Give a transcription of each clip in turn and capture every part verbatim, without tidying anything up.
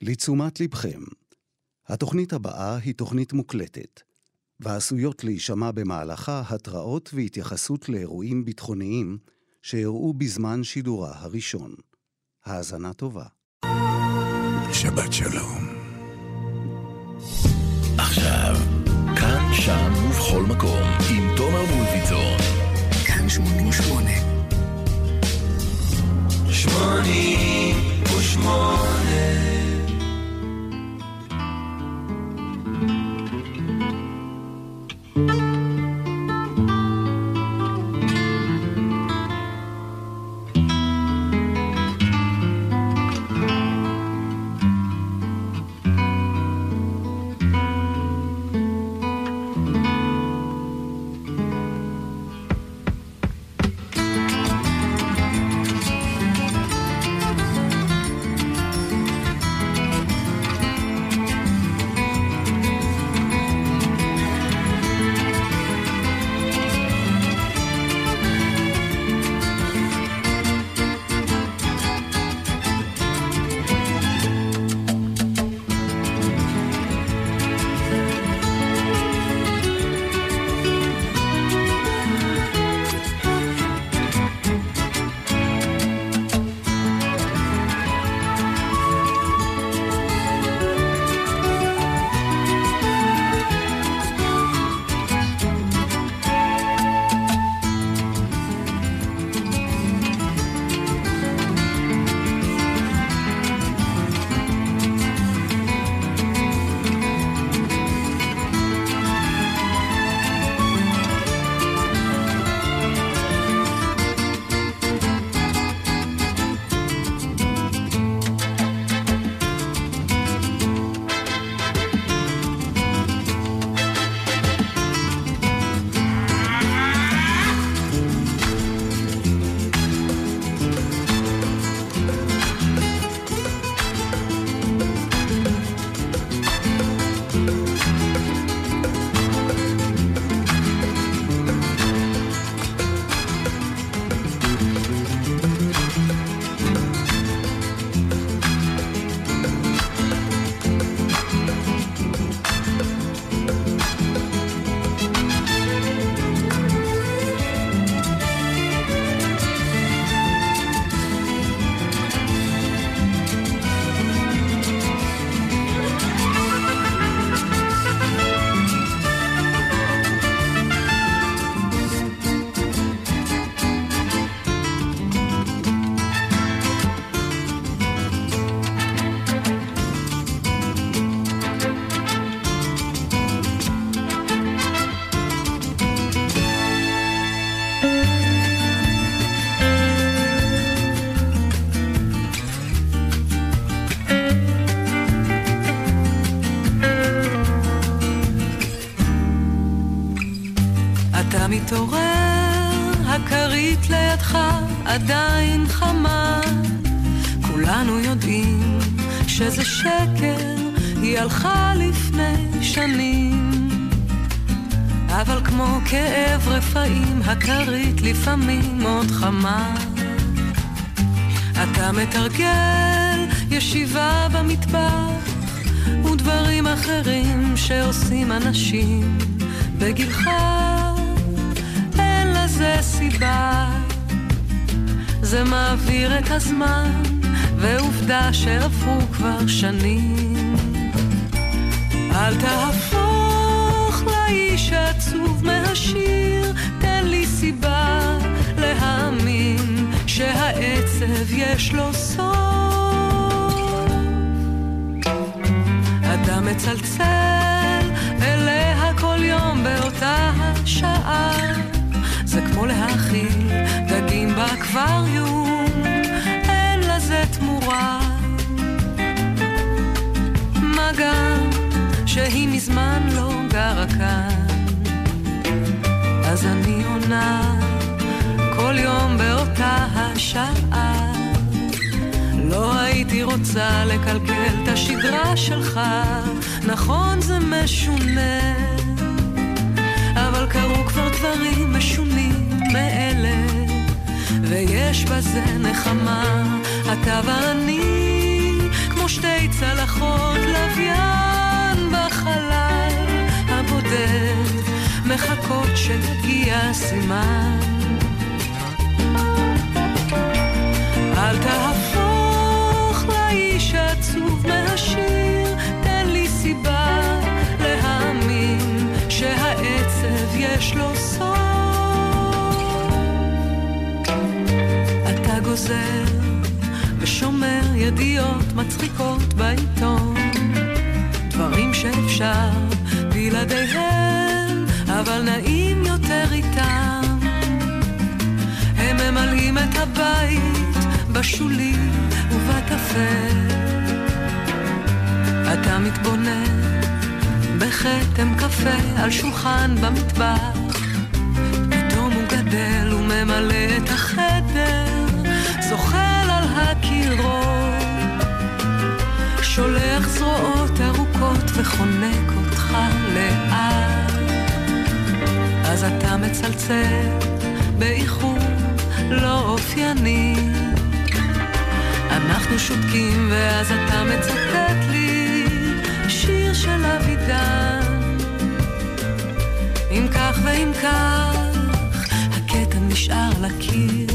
לתשומת לבכם, התוכנית הבאה היא תוכנית מוקלטת, ועשויות להישמע במהלכה התראות והתייחסות לאירועים ביטחוניים שאירעו בזמן שידורה הראשון. האזנה טובה. שבת שלום. עכשיו, כאן, שם ובכל מקום, עם תומר מולביצור. כאן שמונים ושמונה. שמונים ושמונה. מתעורר, הכרית לידך עדיין חמה, כולנו יודעים שזה שקר, היא הלכה לפני שנים, אבל כמו כאב רפאים הכרית לפעמים עוד חמה. אתה מתרגל ישיבה במטבח ודברים אחרים שעושים אנשים בגילך, זה סיבה, זה מעביר את הזמן, ועובדה שעברו כבר שנים. אל תהפוך לאיש עצוב מהשיר, תן לי סיבה להאמין שהעצב יש לו סוף. אתה מצלצל אליה כל יום באותה השעה, זה כמו להאכיל דגים באקווריום, אין לזה תמורה. מה גם שהיא מזמן לא גרה כאן, אז אני עונה כל יום באותה השעה. לא הייתי רוצה לקלקל את השגרה שלך, נכון זה משונה, אבל קרו כבר דברים משונים מאלה, ויש בזה נחמה. אתה ואני כמו כמו שתי צלחות לוויין בחלל הבודד, מחכות שיגיע סימן. אל תהפוך לאיש עצוב מהשיר, תן לי סיבה להאמין שהעצב יש לו סוף. אתה גוזר ושומר ידיעות מצחיקות בעיתון, דברים שאפשר בלעדיהם, אבל נעים יותר איתם. הם ממלאים את הבית בשולי ובקפה. אתה מתבונן בחתם קפה על שולחן במטבח, פתאום הוא גדל וממלא את החדר, זוחל על הקירות, שולח זרועות ארוכות וחונק אותך לאט. אז אתה מצלצל באיחור לא אופייני, אנחנו שותקים ואז אתה מצטט לי שיר של אבידן. אם כך ואם כך הקטע נשאר לקיר,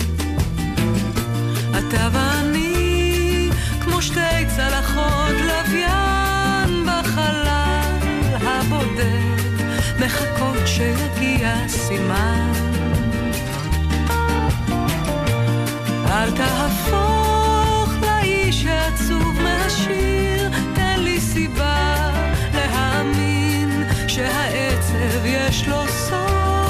אתה ואני כמו שתי צלחות לוויין בחלל הבודד, מחכות שיגיע סימן. אל תהפוך לאיש העצוב מהשיר, תן לי סיבה להאמין שהעצב יש לו סוף.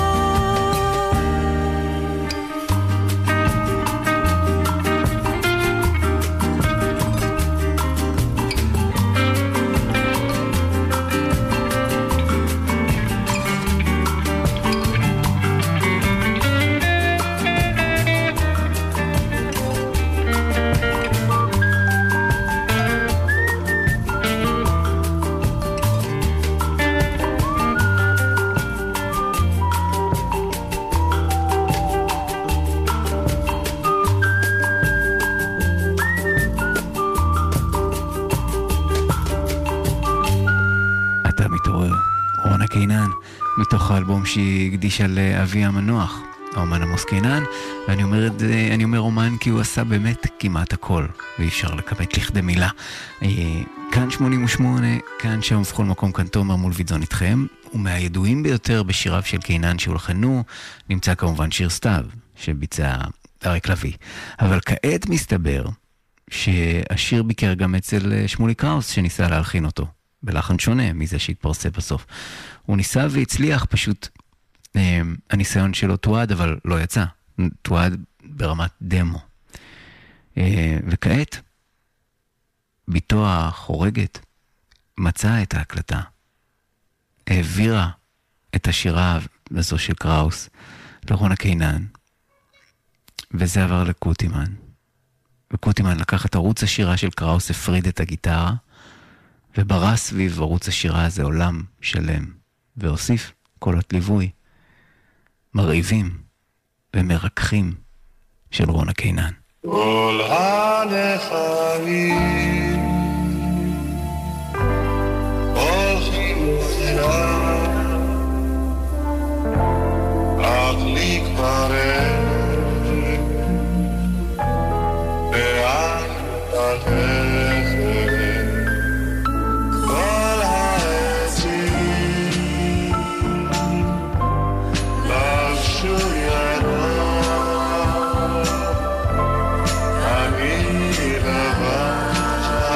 מתוך האלבום שהיא הקדישה לאבי המנוח, האומן עמוס קינן. ואני אומר, אני אומר אומן כי הוא עשה באמת כמעט הכל, ואי אפשר לקמת לכדי מילה. כאן שמונים ושמונה, כאן שם ובכל מקום, כאן תומר מולביטזון איתכם. ומהידועים ביותר בשיריו של קינן שהולחנו, נמצא כמובן שיר סתיו, שביצע אריק לביא. אבל כעת מסתבר שהשיר ביקר גם אצל שמולי קראוס, שניסה להלחין אותו בלחן שונה מזה שהתפרסם בסוף. הוא ניסה והצליח, פשוט אה, הניסיון שלו תועד, אבל לא יצא. תועד ברמת דמו. אה, וכעת, ביתו החורגת מצאה את ההקלטה. העבירה את השירה הזו של קראוס לרונה קינן. וזה עבר לקוטימן. וקוטימן לקח את ערוץ השירה של קראוס, הפריד את הגיטרה, וברא סביב ערוץ השירה הזה עולם שלם, והוסיף קולות ליווי, מרהיבים ומרקחים של רונה קינן. כל הנחלים הולכים סבירה, אך לי כבר ואין תלכת כל העצים לבשו ידו, אני לבש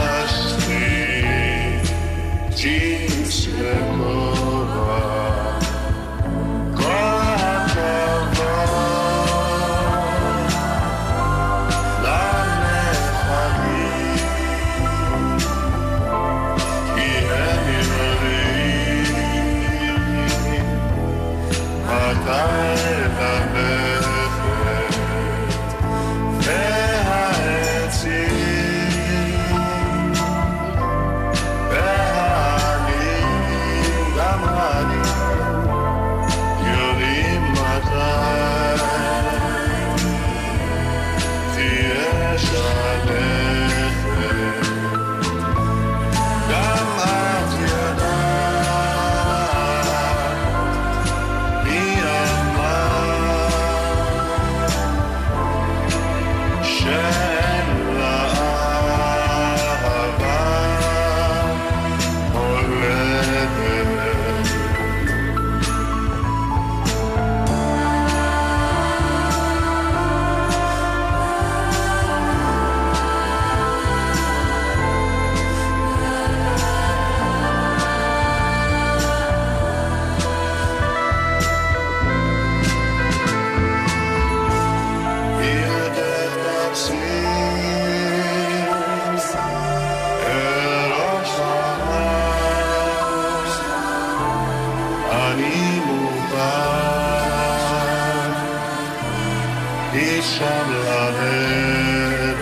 שם לרדת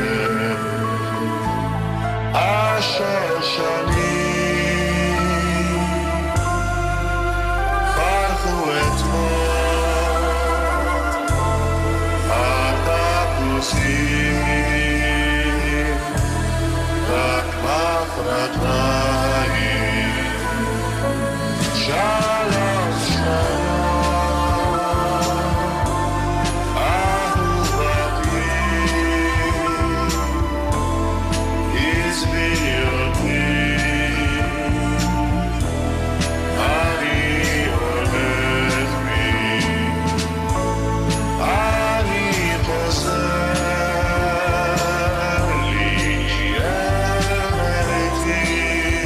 אשר שנים פרחו אתמול הטפוסים רק מחרתיים שלום שלום אהובתי עזבי אותי אני הולך בי אני חוזר לי אל ביתי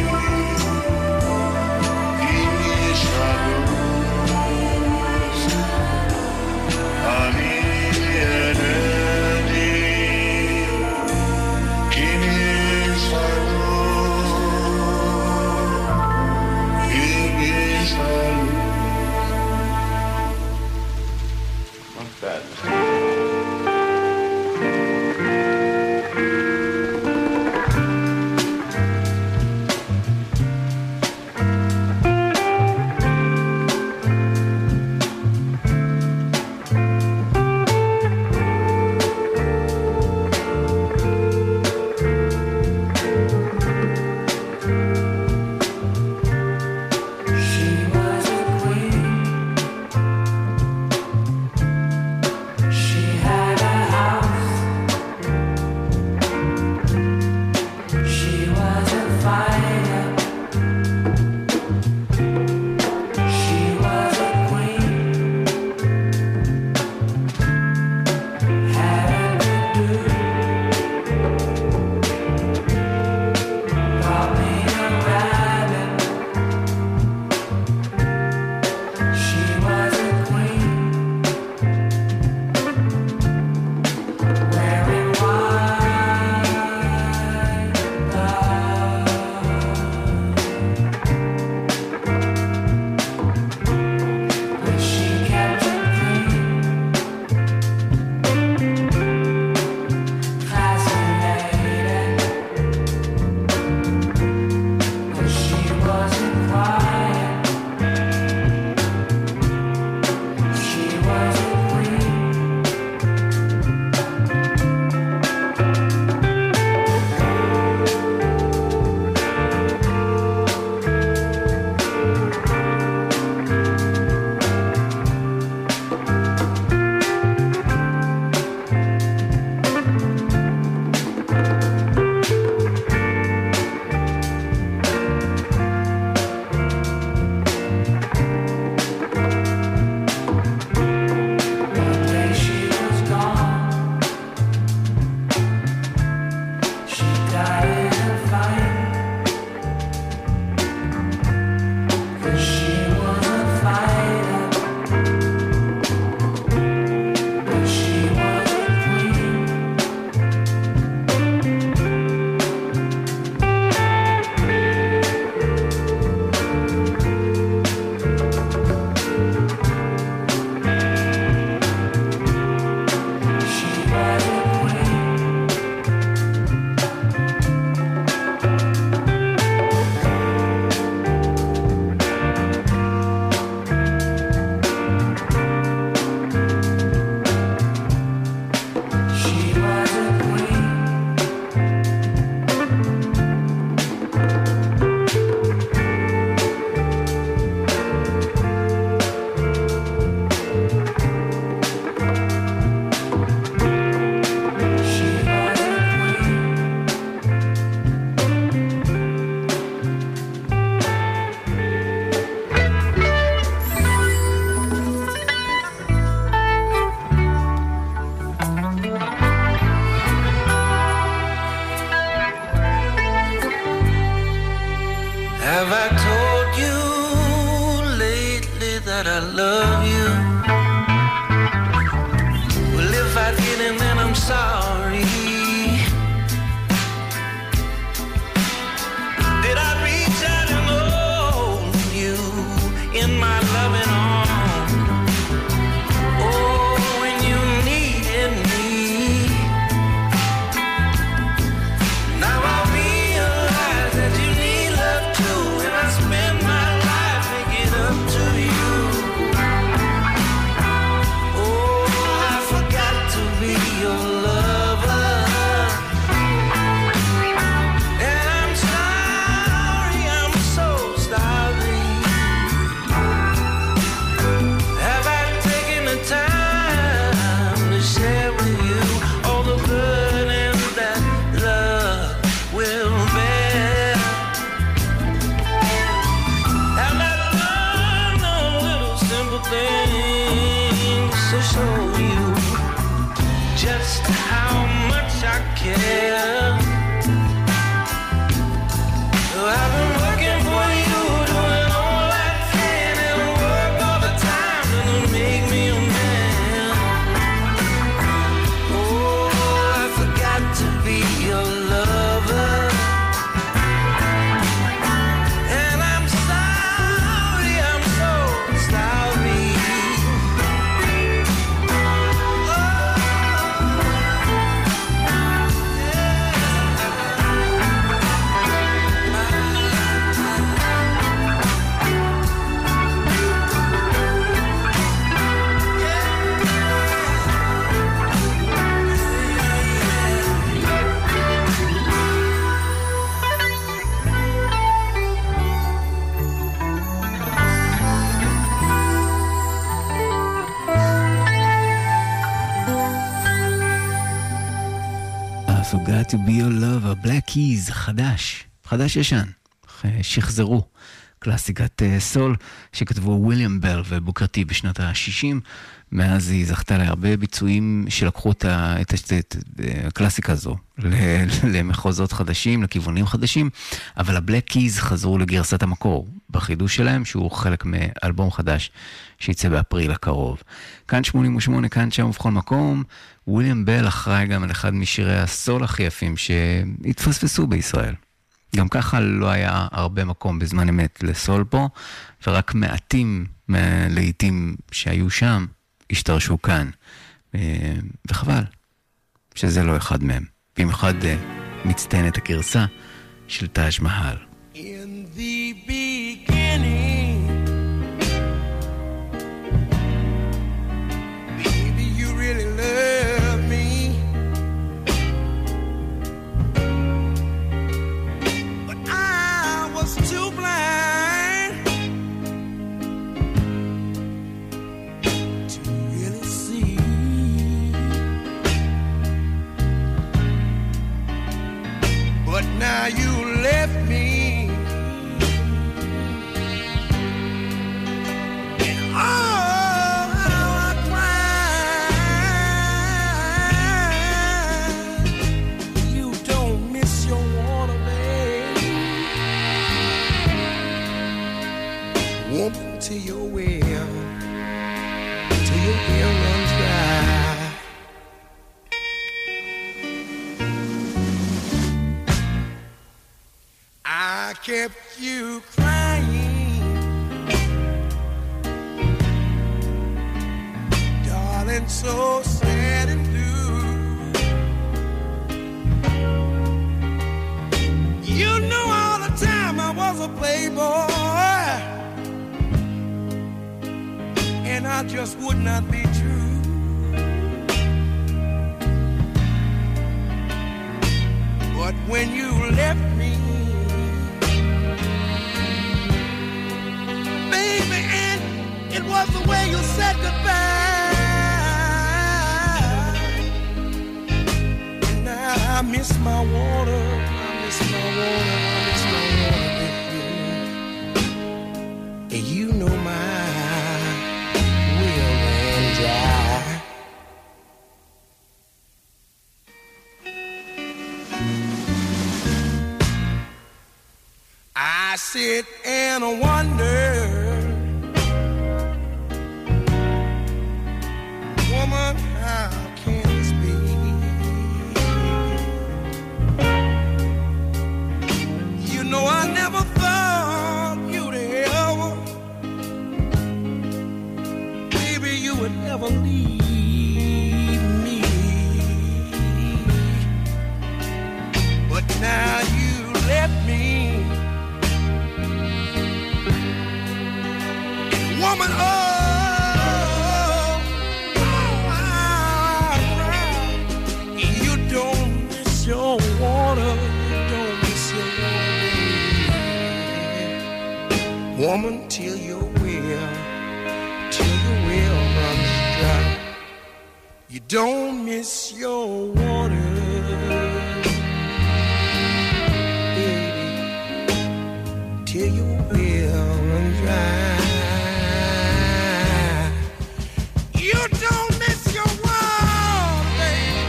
to be your lover, Black Keys, חדש, חדש ישן, שחזרו, קלאסיקת סול שכתבו וויליאם בל ובוקר טי בשנות ה-שישים, מאז היא זכתה להרבה ביצועים שלקחו את, את, את, את הקלאסיקה הזו למחוזות חדשים, לכיוונים חדשים, אבל הבלק קיז חזרו לגרסת המקור, בחידוש שלהם שהוא חלק מאלבום חדש שיצא באפריל הקרוב. כאן שמונים ושמונה, כאן שם ובכל מקום, וויליאם בל אחראי גם על אחד משירי הסול הכי יפים שהתפספסו בישראל. גם ככה לא היה הרבה מקום בזמן אמת לסול פה, ורק מעטים לעיתים שהיו שם השתרשו כאן, וחבל שזה לא אחד מהם. במיוחד מצטיינת הגרסה של טאג' מהל. In the beginning, baby, you really love me. But I was too blind to really see. But now you left me. To your well, till your well runs dry. I kept you crying, darling, so sad and blue. You know all the time I was a playboy, and I just would not be true. But when you left me, baby, and it was the way you said goodbye. And now I miss my water, I miss my water, I miss my water, baby. And you know my I sit and wonder, woman, how can this be? You know I never thought you'd ever, baby, you would never leave me. But now you left me. Woman, oh, oh, I cry. You don't miss your water, you don't miss your water. Woman, till your well, till your well runs dry. You don't miss your water, baby, till your well runs dry. You don't miss your water, baby.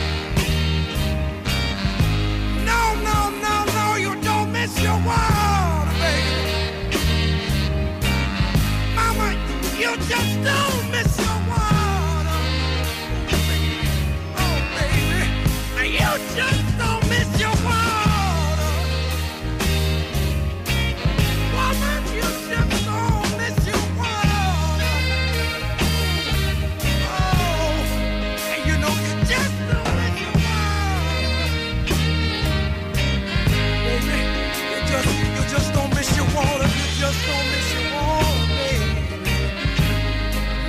No, no, no, no, you don't miss your water, baby. Mama, you just don't miss your water. Oh, baby, you just don't miss your water. Woman, you just don't miss your water. Just don't miss your water, you just don't miss your water, baby.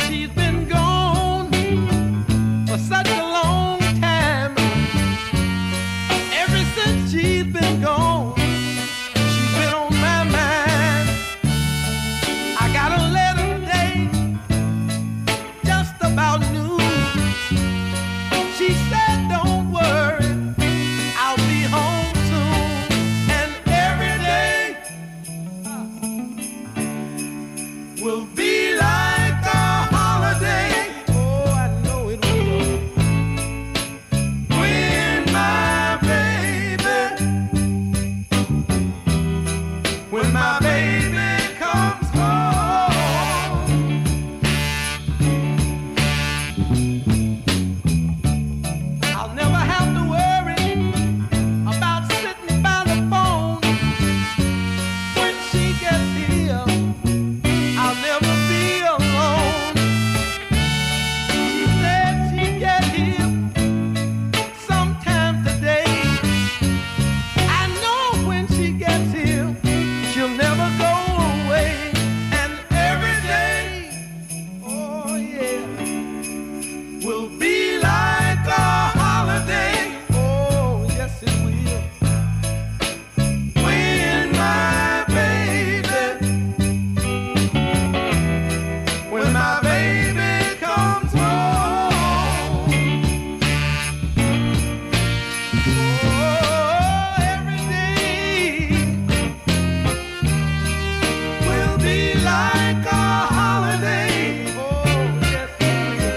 she's been gone for such a long time. Ever since she's been gone, she's been on my mind. I got a letter today, just about noon. She said, don't worry, I'll be home soon. And every day will be like a holiday. Oh, I know it will. When my baby, when my baby comes home, I'll never have to worry about sitting by the phone. When she gets here, I'll never be alone. She said she'd get here sometime today. I know when she gets here, she'll never go away. And every day, oh yeah, will be like a holiday. Oh, yes it will. When my baby, when my baby comes home. Oh, every day will be like a holiday. Oh, yes it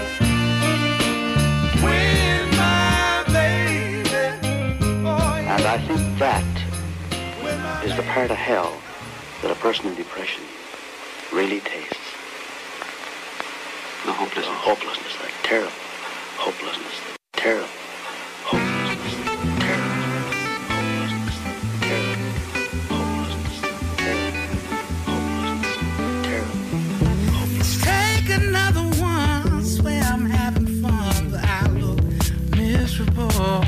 will. When my baby, oh yeah. And I think that When my is the part of hell that a person in depression really tastes. The hopelessness. The hopelessness, that terrible hopelessness, terrible hopelessness, terrible hopelessness, terrible hopelessness, terrible hopelessness, terrible hopelessness. Take another one. Swear I'm having fun, but I look miserable.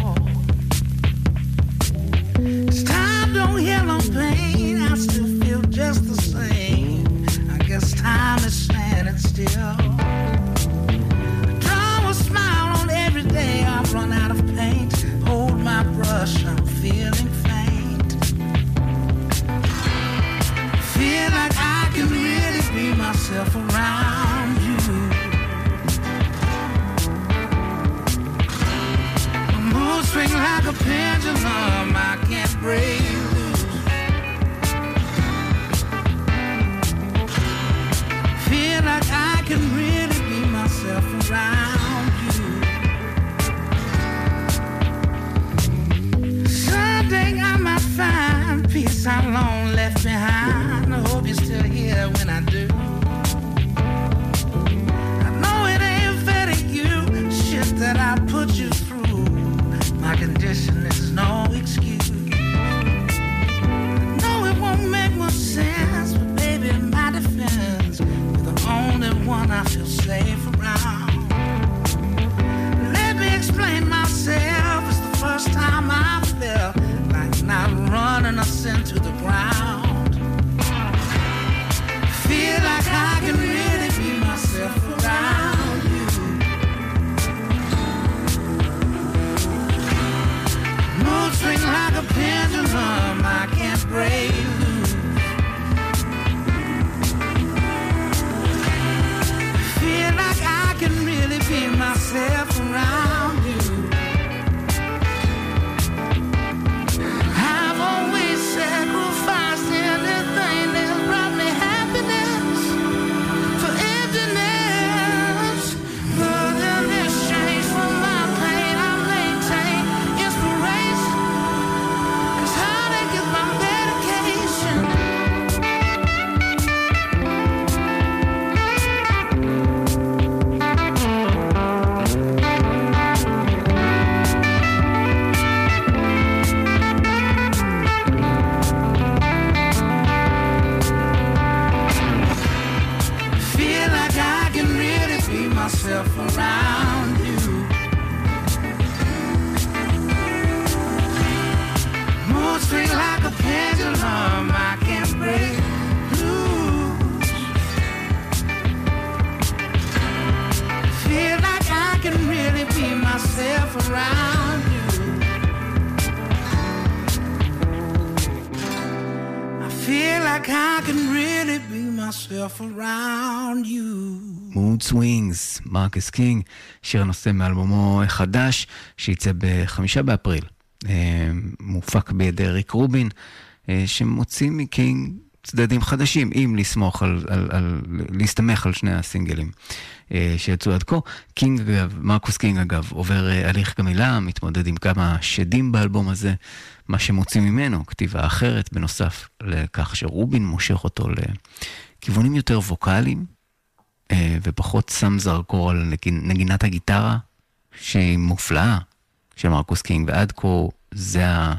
As time don't heal no pain, I still feel just the same. I guess time is standing still. Draw a smile on every day. I've run out of paint. Hold my brush, I'm feeling faint. Feel like I can really be myself around you. My mood swing like a pendulum, I can't break loose. Feel like I can really be myself around you. Someday I might find peace I long left behind. I hope you're still here when I do. I know it ain't fair to you, shit that I put you through. My condition is no excuse. I know it won't make much sense, but baby, in my defense, you're the only one I feel safe around. Let me explain myself. It's the first time I felt like not running us into the ground. Feel like I can really be myself around you. Mood swing like a pendulum, I can't break loose. Feel like I can really be myself around you. I've always sacrificed anything that's brought me happiness for emptiness. But in exchange for my pain, I maintain inspiration. 'Cause heartache is my medication. Feel like I can really be myself around you. Mood swing like a pendulum, I can't break loose. myself around you. I feel like I can really be myself around you. Mood Swings, מרקוס קינג, שיר נושא מאלבומו החדש שיצא בחמישה באפריל, מופק בידי ריק רובין, שמוציא מקינג צדדים חדשים, אם לסמוך על, על, על, להסתמך על שני הסינגלים שיצאו עד כה. קינג אגב, מרקוס קינג אגב, עובר הליך גמילה, מתמודד עם כמה שדים באלבום הזה, מה שמוציא ממנו, כתיבה אחרת, בנוסף לכך שרובין מושך אותו לכיוונים יותר ווקליים, ופחות שם זרקור על נגינת הגיטרה, שהיא מופלאה של מרקוס קינג, ועד כה זה ה...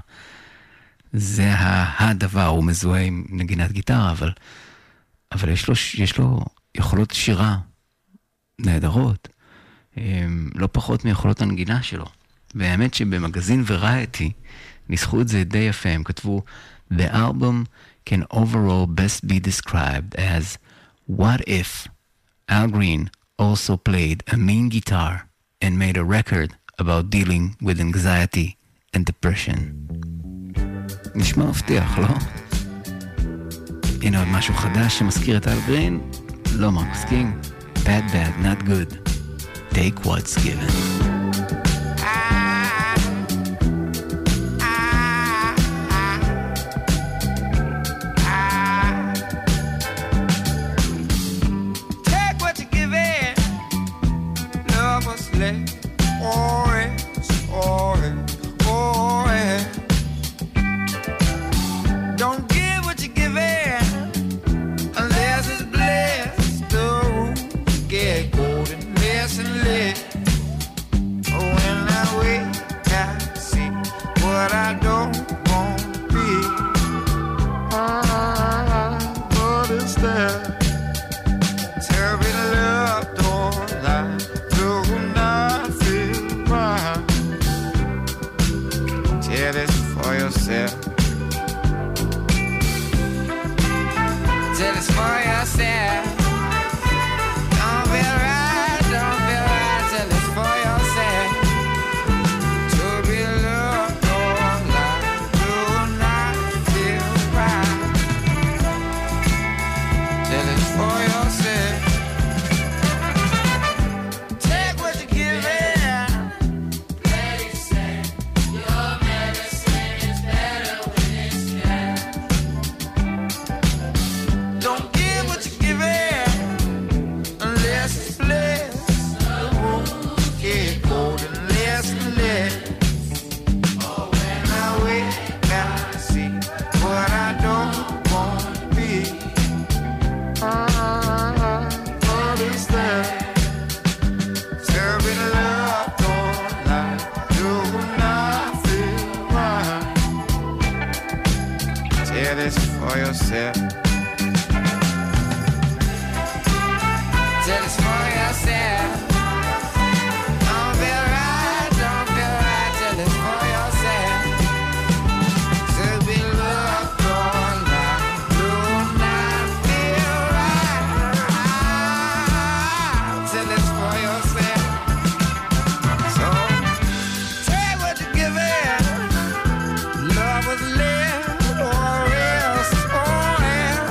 זה הדבר, הוא מזוהה עם נגינת גיטרה, אבל, אבל יש לו, יש לו יכולות שירה נהדרות, לא פחות מיכולות הנגינה שלו. והאמת שבמגזין וראייטי ניסחו את זה די יפה, הם כתבו, The album can overall best be described as what if Al Green also played a mean guitar and made a record about dealing with anxiety and depression. נשמע מבטיח, לא? הנה עוד משהו חדש שמזכיר את אל גרין, לא מרקוס קינג, bad bad, not good, take what's given. Love was lived or else, oh, yeah.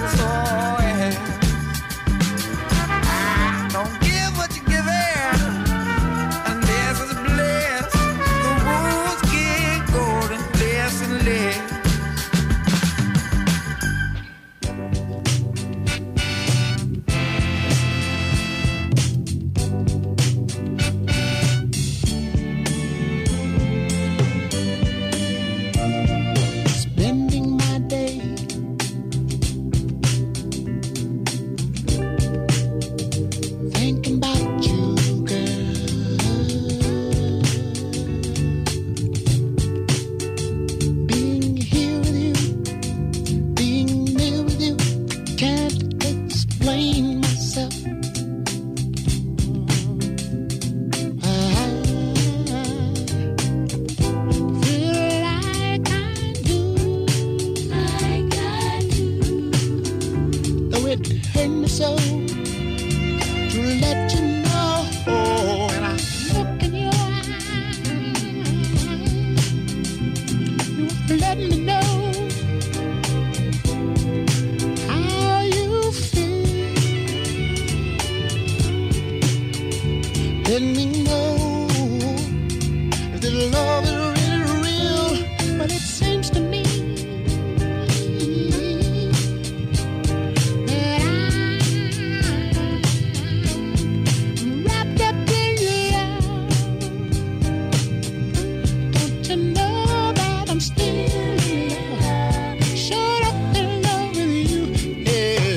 let me know if this love is really real. But it seems to me that I'm wrapped up in love. Don't you know that I'm still in love? Shut up in love with you, yeah.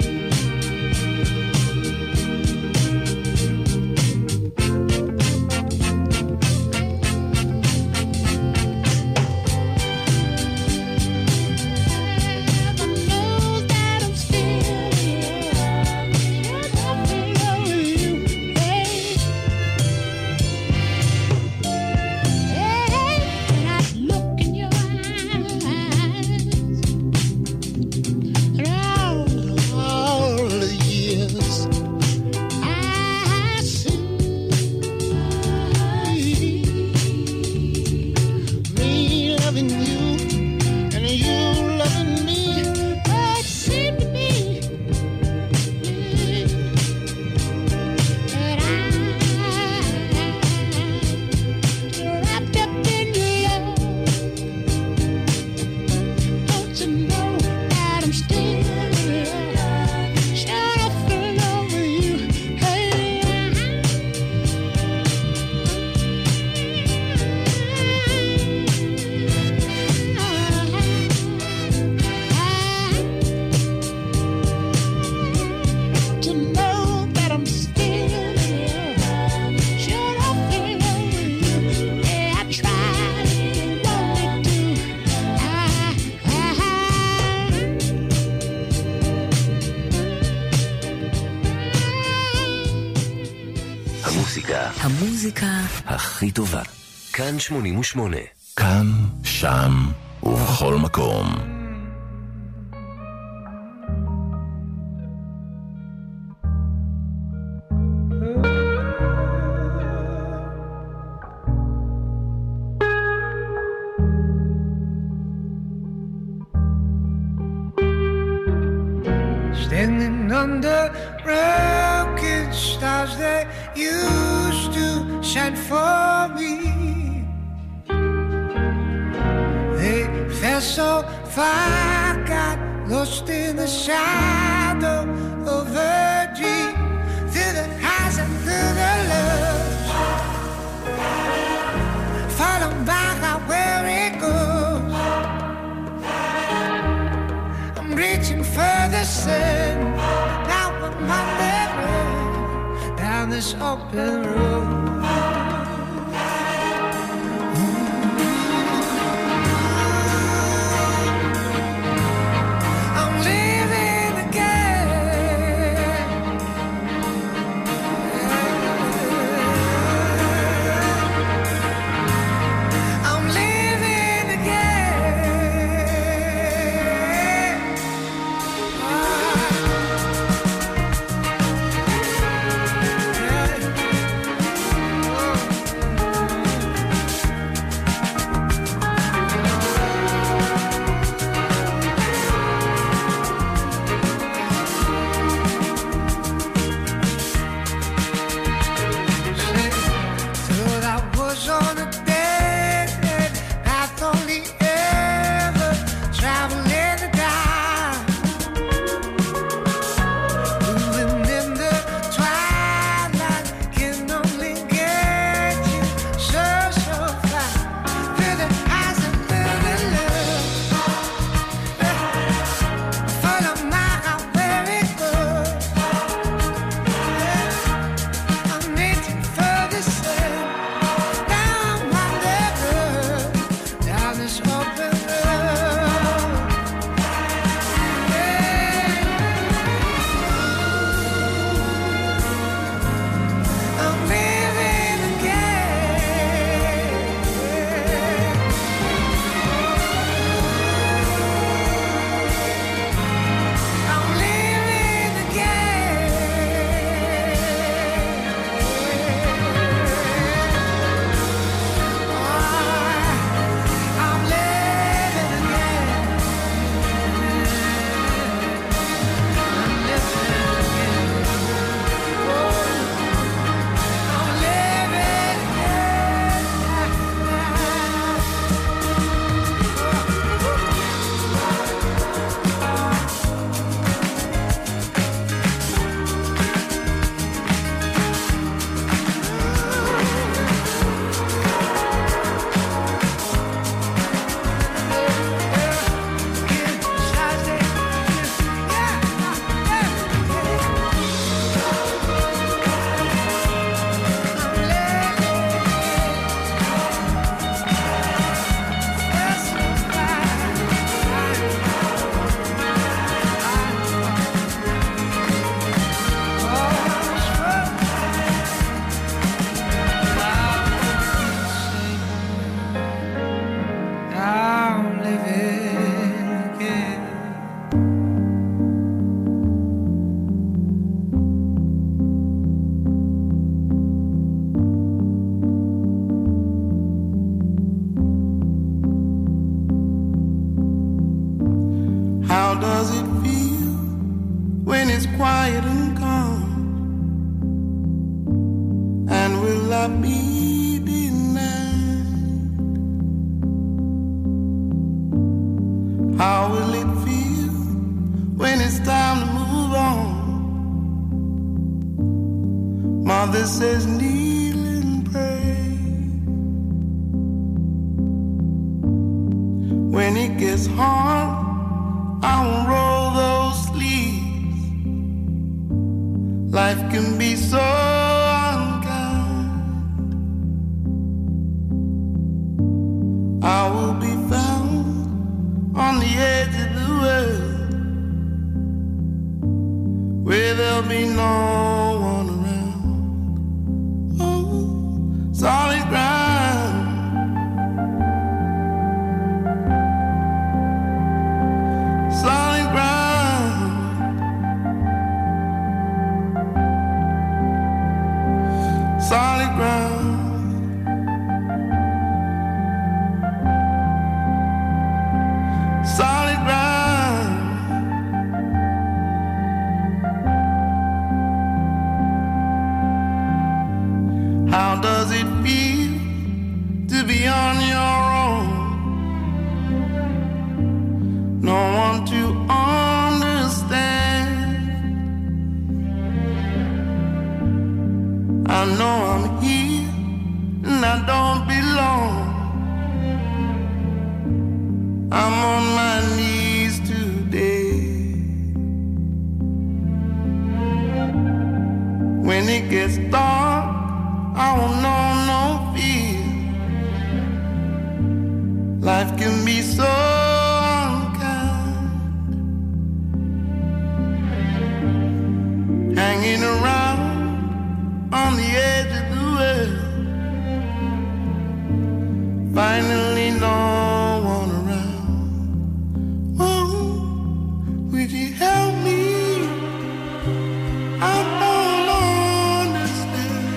המוזיקה הכי טובה. כאן שמונים ושמונה. כאן, שם ובכל מקום. Standing under broken stars that used to shine for me, they fell so far, got lost in the shadow of a dream. Through the highs and through the lows, falling back out where it goes. I'm reaching for the sun, now I'm on the road, down this open road. it's quiet and calm? And will I be denied? How will it feel when it's time to move on? Mother says kneel and pray. When it gets hard, I won't roll those sleeves. Life can be so unkind. I will be found on the edge of the world, where there'll be no one around. Oh, solid ground. Solid ground. Solid ground. Solid ground. How does it feel to be on your own? No one to understand. I know I'm here and I don't belong. I'm on my knees today. When it gets dark, I won't know no fear. Life can be so unkind. Hanging around on the edge of the world, finally no one around. Oh, would you help me? I don't understand.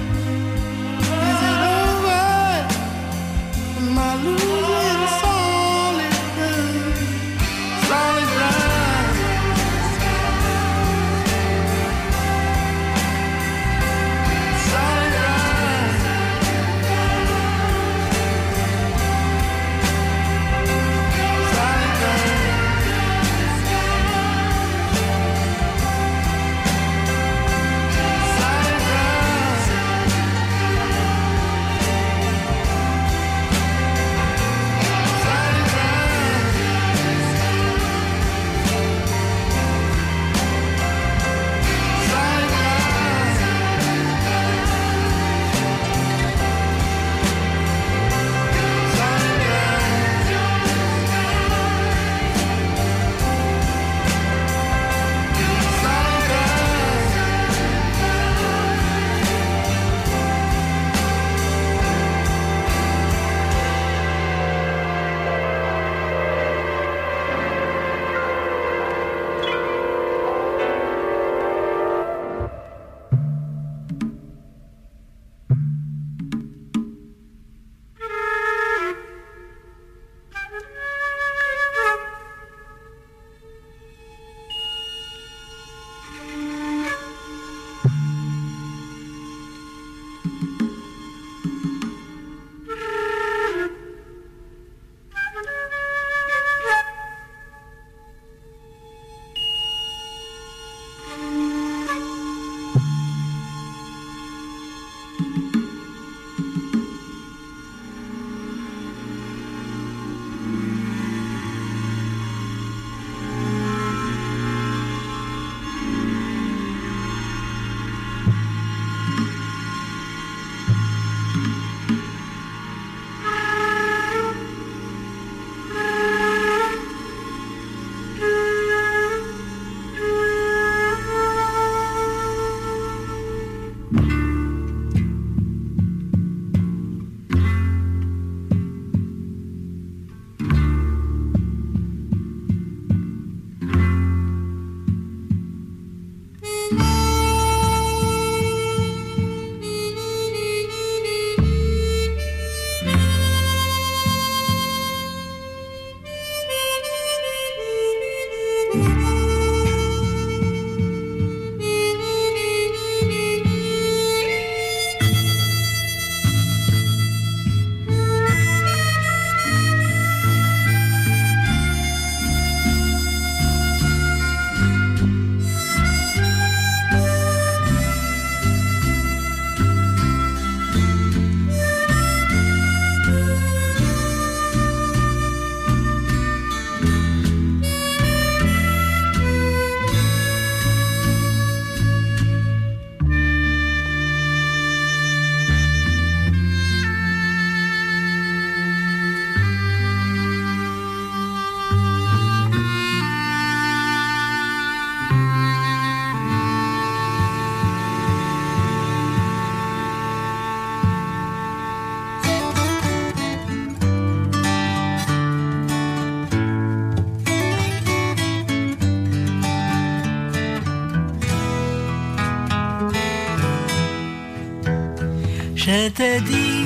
שתדעי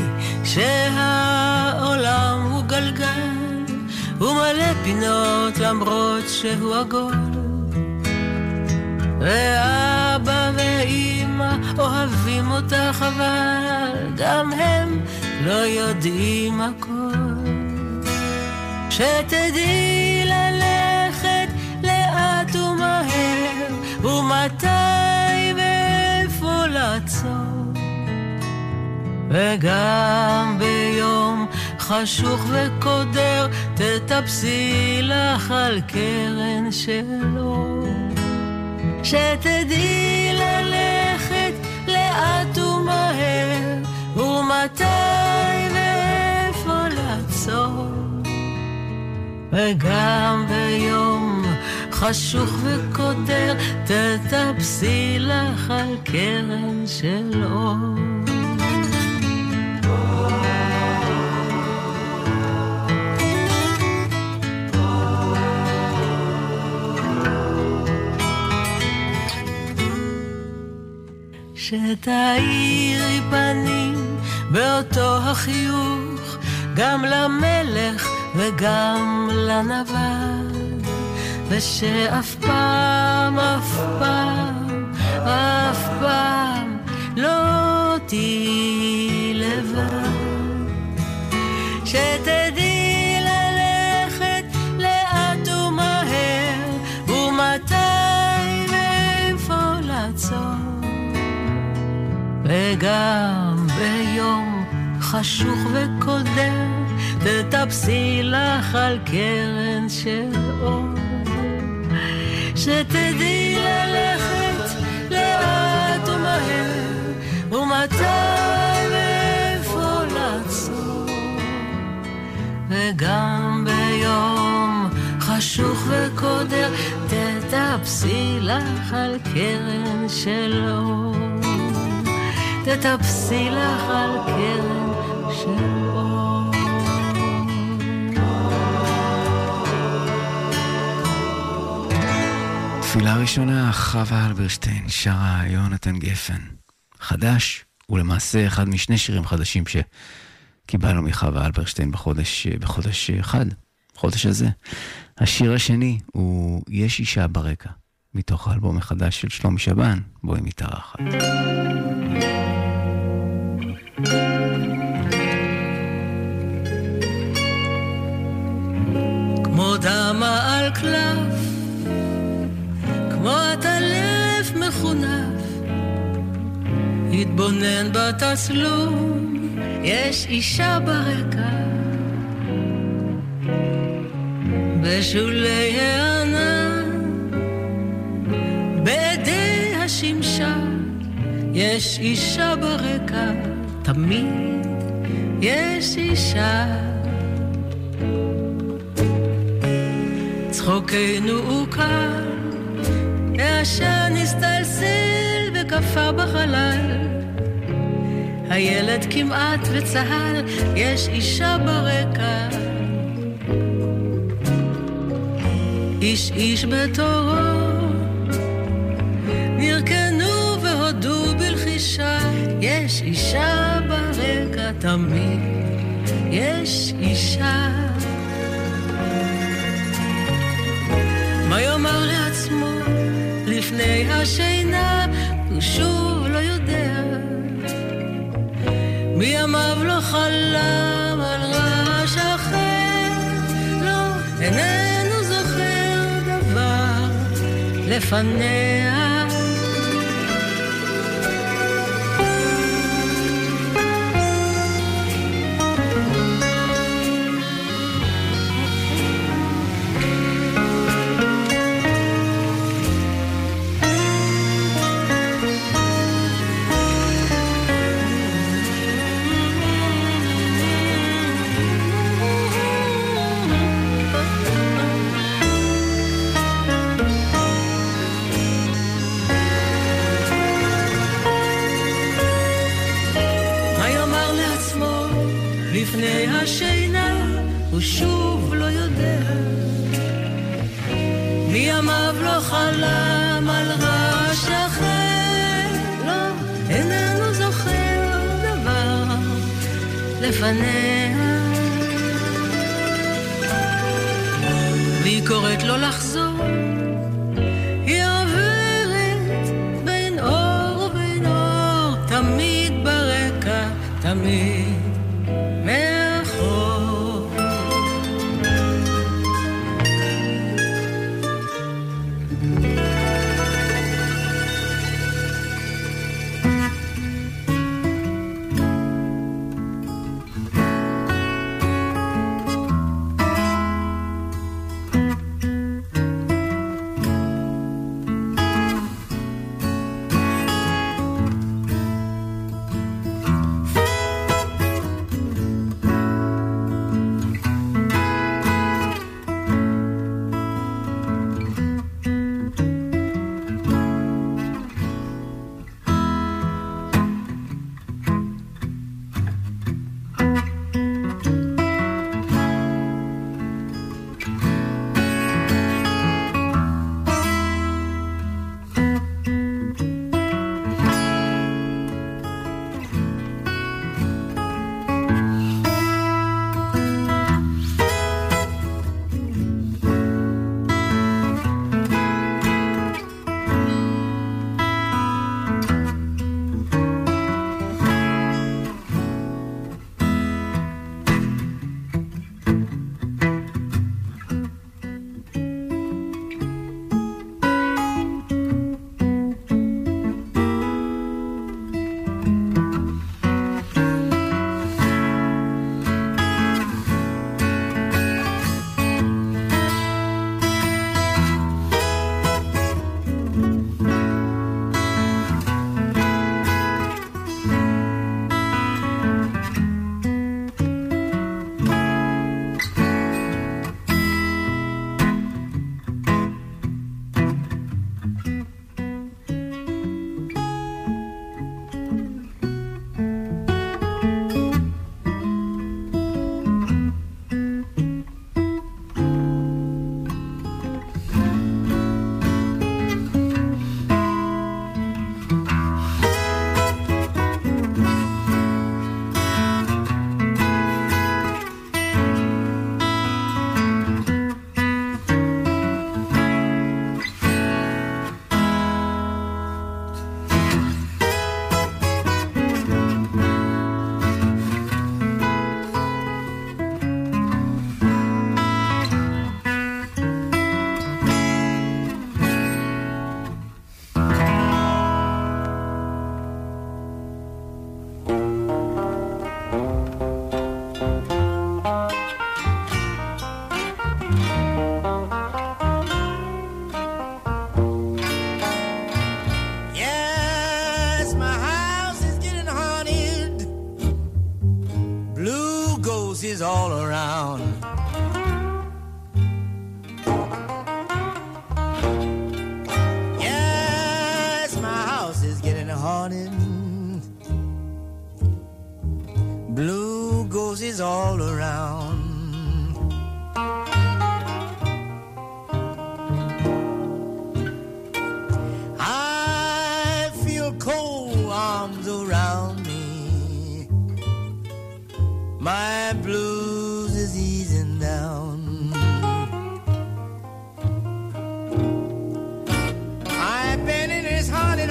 שהעולם הוא גלגל ומלא פינות למרות שהוא עגול, ואבא ואמא אוהבים אותך אבל גם הם לא יודעים הכל. שתדעי ללכת לאט ומהר ומתי ואיפה לעצור, וגם ביום חשוך וקודר תטפסי לך על קרן שלו. שתדעי ללכת לאט ומהר ומתי ואיפה לעצור, וגם ביום חשוך וקודר תטפסי לך על קרן של אור. שתאירי פנים באותו החיוך גם למלך וגם לנבל, ושאף פעם, אף פעם, אף פעם לא תהיי לבד. שתדעי ללכת לאט ומהר ומתי ואיפה לעצור, וגם ביום חשוך וקודר תטפסי לך על קרן של אור. שתדעי ללכת לאט ומהר ומתי ואיפה לעצור, וגם ביום חשוך וקודר תטפסי לך על קרן של אור. תטפסי לך על קרן של אור. תפילה ראשונה, חווה אלברשטיין, שרה יונתן גפן. חדש, ולמעשה אחד משני שירים חדשים שקיבלנו מחווה אלברשטיין בחודש, בחודש אחד, בחודש הזה. השיר השני הוא יש אישה ברקע, מתוך האלבום החדש של שלומי שבן, בו היא מתארחת. כמו דמה על קלף, כמו הטלף מחונף, התבונן בתצלום, יש אישה ברקע, בשולי הענן, בעדי השמשה, יש אישה ברקע, תמיד יש אישה. צחוקנו הוא קל, העשן הסתלסל וקפה בחלל, הילד כמעט וצהל, יש אישה ברקע. איש איש בתורו, נרקנו והודו בלחישה, יש אישה ברקע, תמיד יש אישה. מה יאמר לעצמו לפני השינה, הוא שוב לא יודע, מימיו לא חלם על רעש אחר, לא, איננו זוכר דבר לפניה. לפני השינה הוא שוב לא יודע, מימיו לא חלם על רעש אחר, לא, איננו זוכר דבר לפניה, והיא קוראת לו לחזור. היא עוברת בין אור ובין אור, תמיד ברקע, תמיד מאחור. All around. Yes, my house is getting haunted. Blue ghosts all around. I feel cold arms around me. My blues is easing down. I've been in this haunted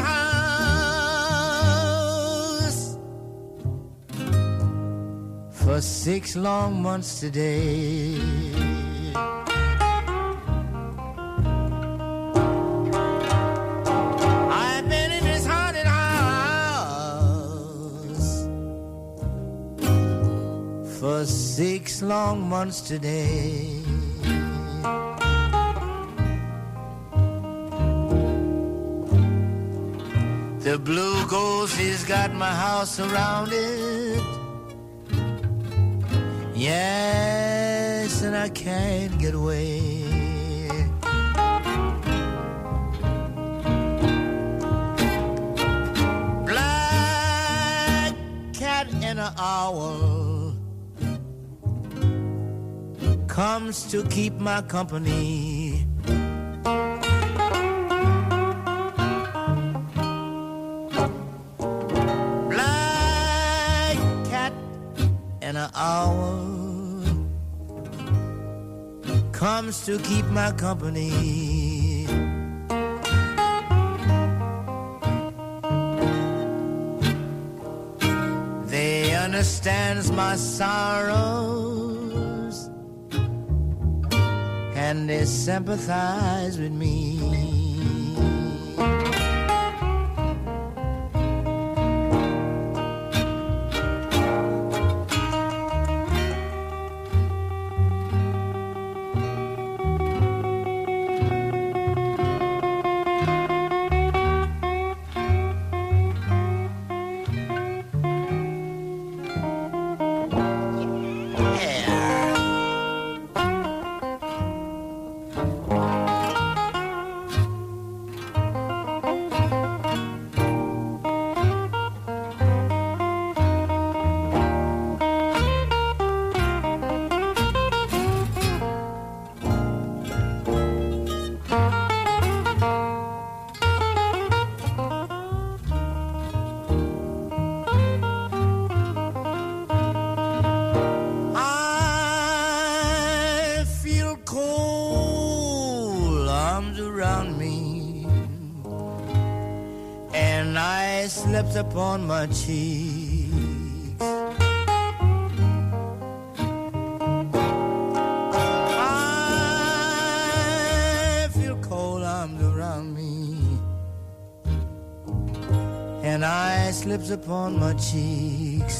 house for six long months today. I've been in this haunted house for six long months today. The blue ghost has got my house surrounded. Yes, and I can't get away. Black cat and an owl comes to keep my company. Black cat and an hour comes to keep my company. They understands my sorrows and they sympathize with me. Upon my cheeks, I feel cold arms around me, and ice slips upon my cheeks.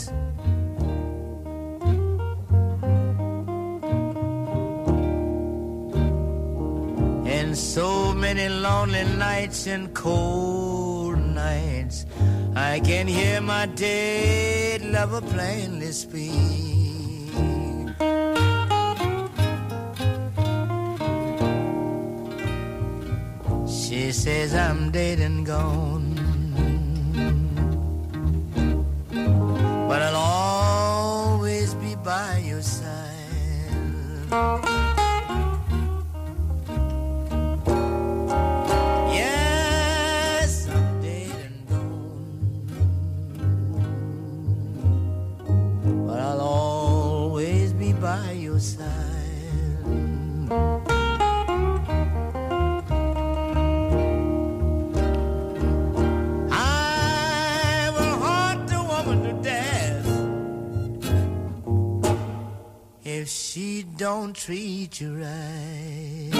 And so many lonely nights and cold nights, I can hear my dead lover plainly speak. She says I'm dead and gone, but I'll always be by your side. By your side, I will haunt the woman to death if she don't treat you right.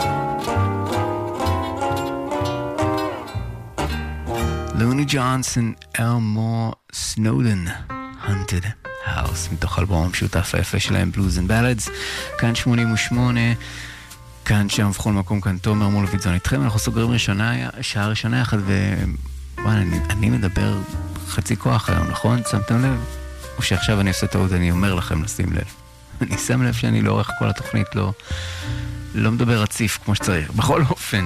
לוני ג'ונסון, אלמור סנודן, Haunted House, מתוך אלבום המשותף היפה שלהם, Blues and Ballads. כאן שמונים ושמונה, כאן שם בכל מקום, כאן תומר מולביטזון איתכם. אנחנו סוגרים ראשונה, שעה ראשונה יחד, ואני אני מדבר חצי כוח היום, נכון? שמתם לב? או שעכשיו אני עושה טעות, אני אומר לכם לשים לב. אני שם לב שאני לאורך כל התוכנית לא, לא מדבר רציף כמו שצריך. בכל אופן,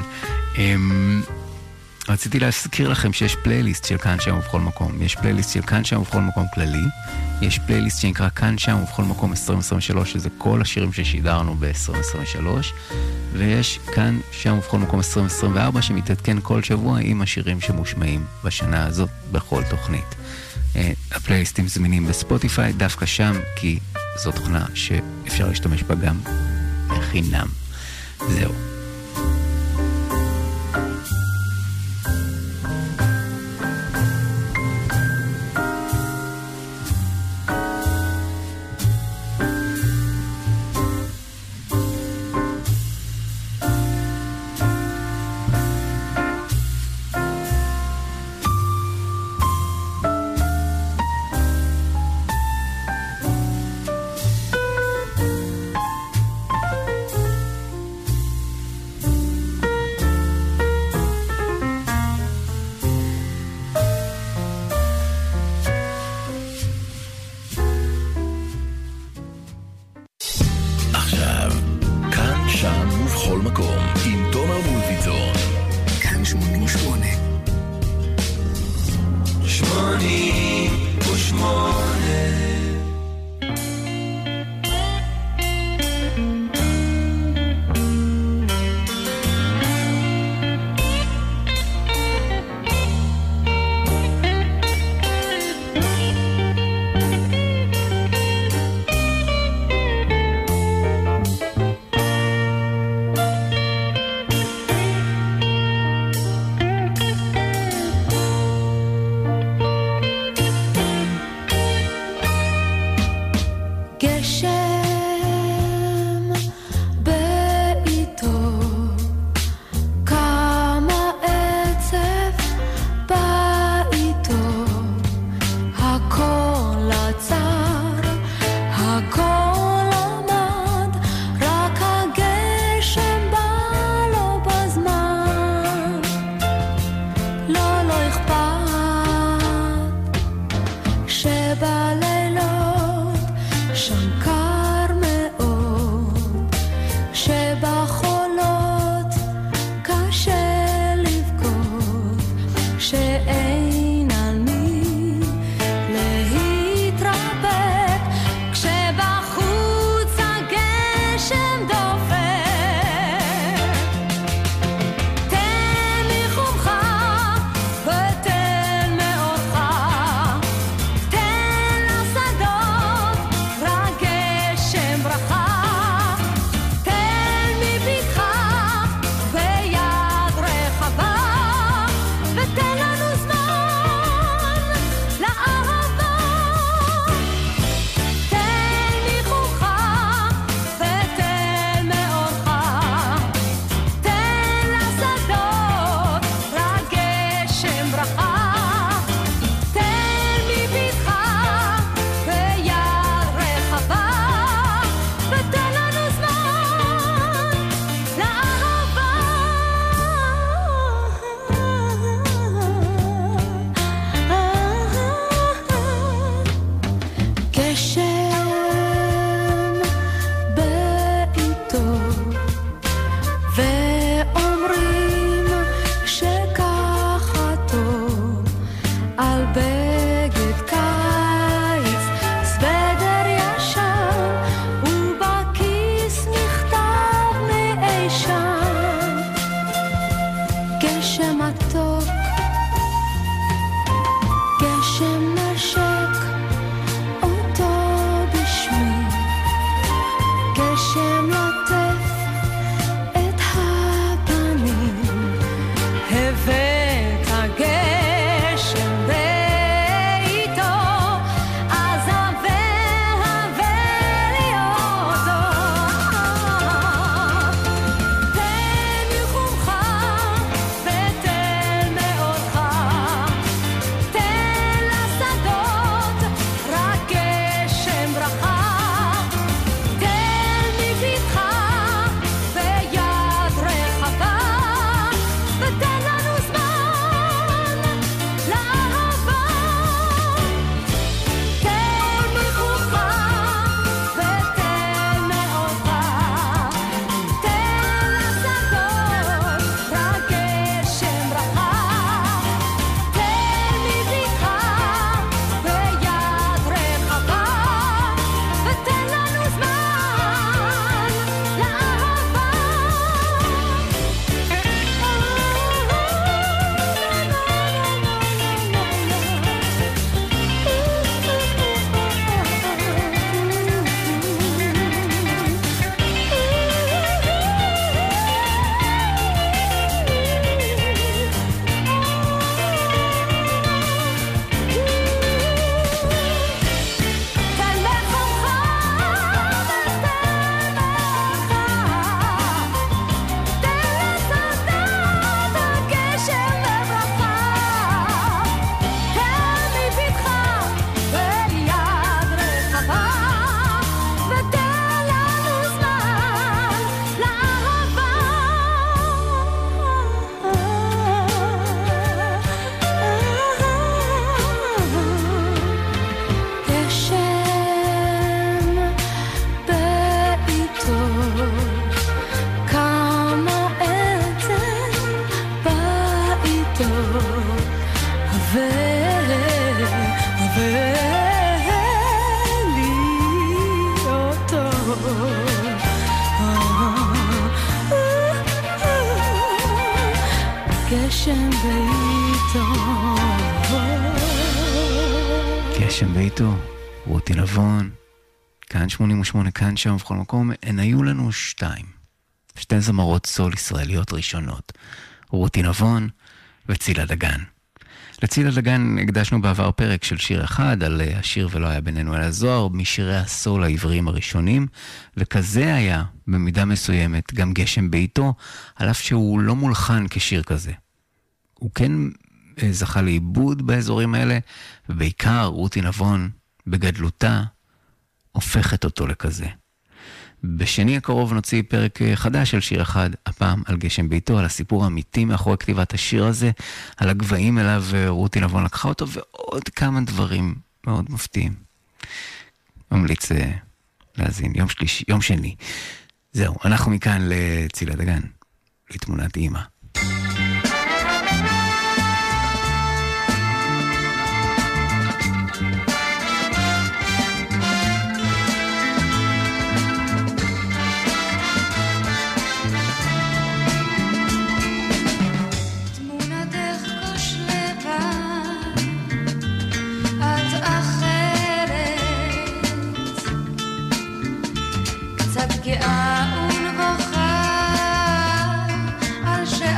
רציתי להזכיר לכם שיש פלייליסט של כאן שם ובכל מקום. יש פלייליסט של כאן שם ובכל מקום כללי. יש פלייליסט שנקרא כאן שם ובכל מקום עשרים עשרים ושלוש, שזה כל השירים ששידרנו ב-עשרים עשרים ושלוש. ויש כאן שם ובכל מקום עשרים עשרים וארבע, שמתעדכן כל שבוע עם השירים שמושמעים בשנה הזאת בכל תוכנית. הפלייליסטים זמינים בספוטיפיי, דווקא שם, כי זו תוכנה שאפשר להשתמש בה גם בחינם. זהו. גשם ביתו. גשם ביתו, רותי נבון, כאן שמונים ושמונה, כאן שם ובכל מקום. הן היו לנו שתיים, שתי זמרות סול ישראליות ראשונות, רותי נבון וצילה דגן. לצילה דגן הקדשנו בעבר פרק של שיר אחד על השיר ולא היה בינינו אלא זוהר, משירי הסול העבריים הראשונים, וכזה היה במידה מסוימת גם גשם ביתו, על אף שהוא לא מולחן כשיר כזה. הוא כן זכה לאיבוד באזורים האלה, ובעיקר רותי נבון בגדלותה הופכת אותו לכזה. בשני הקרוב נוציא פרק חדש של שיר אחד, הפעם על גשם ביתו, על הסיפור האמיתי מאחורי כתיבת השיר הזה, על הגבהים אליו רותי נבון לקחה אותו, ועוד כמה דברים מאוד מפתיעים. ממליץ להזין, יום שלישי, יום שני. זהו, אנחנו מכאן לצילה דגן, לתמונת אימא. גאה ונבוכה על ש...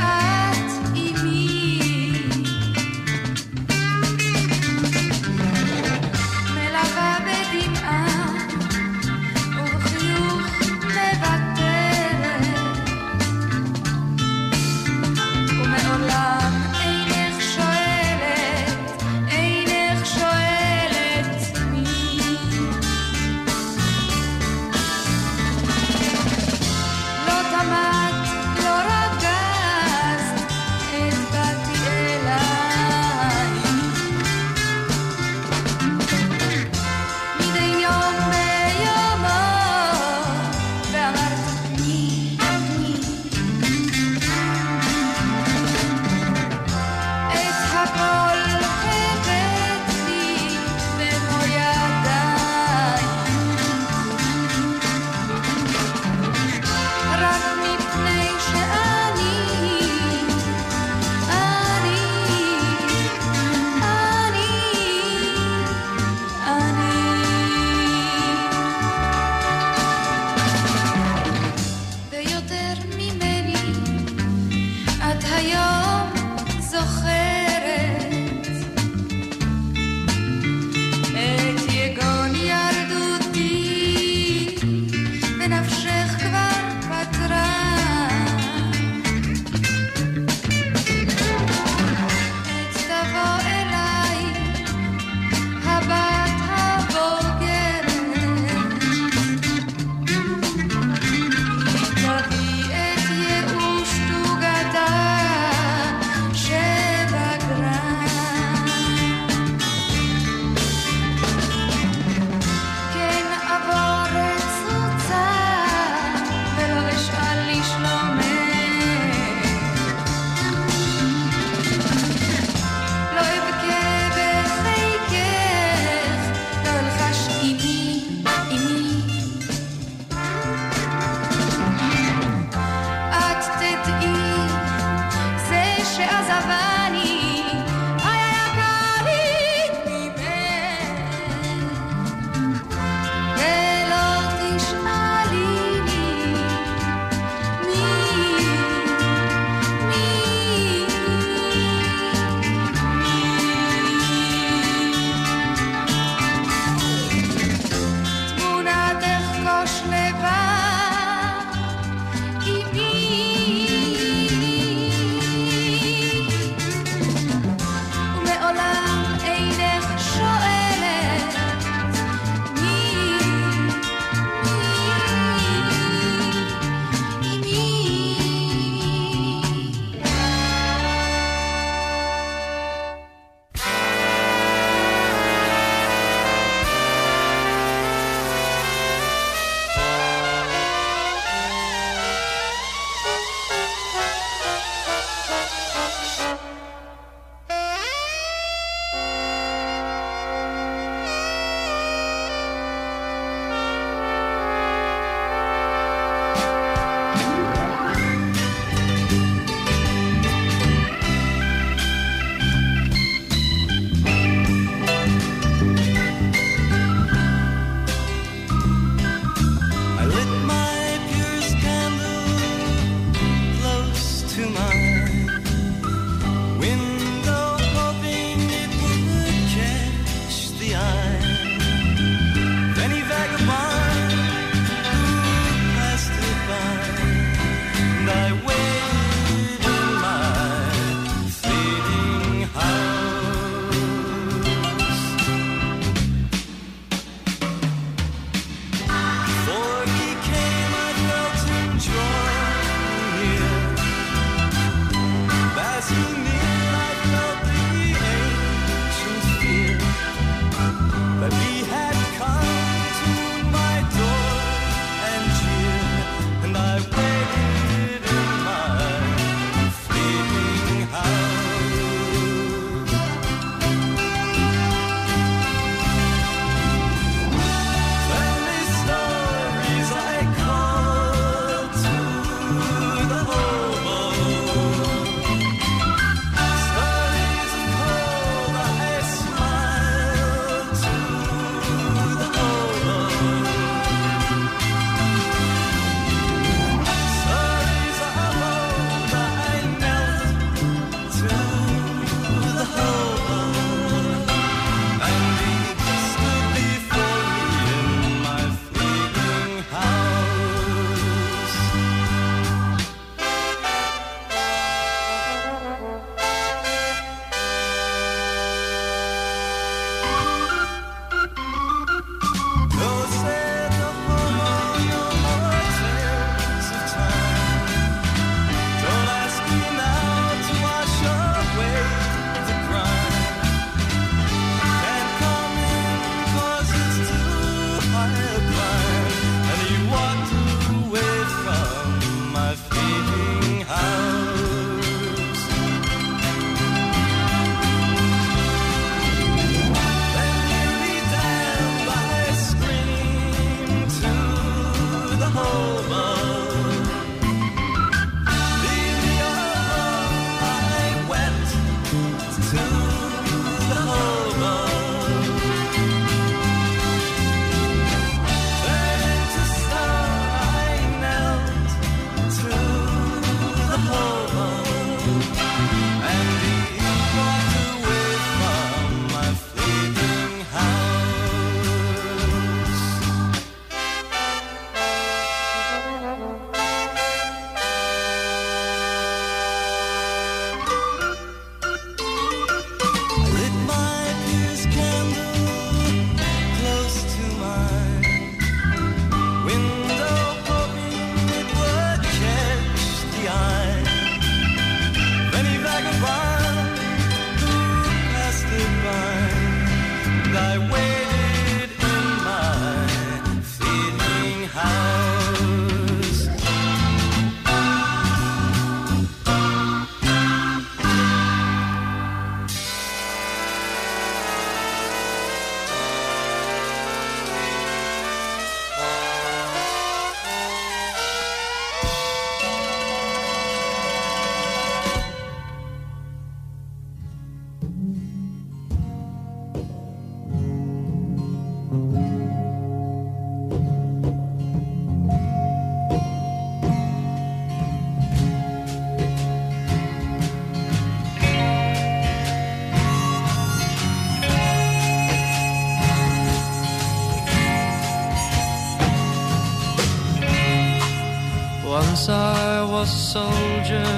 Once I was a soldier,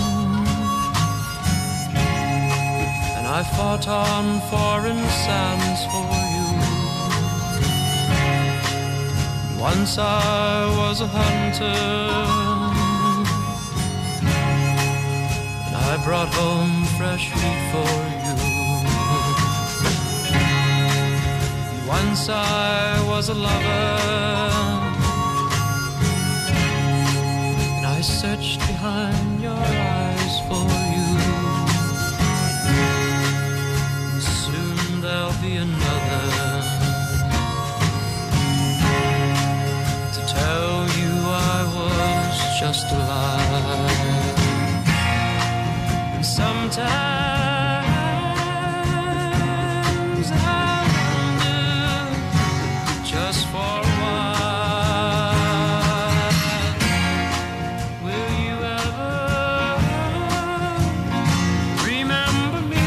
and I fought on foreign sands for you. Once I was a hunter, and I brought home fresh meat for you. Once I was a lover, I searched behind your eyes for you. And soon there'll be another to tell you I was just a lie. And sometimes I wonder, just for a while, will you ever remember me?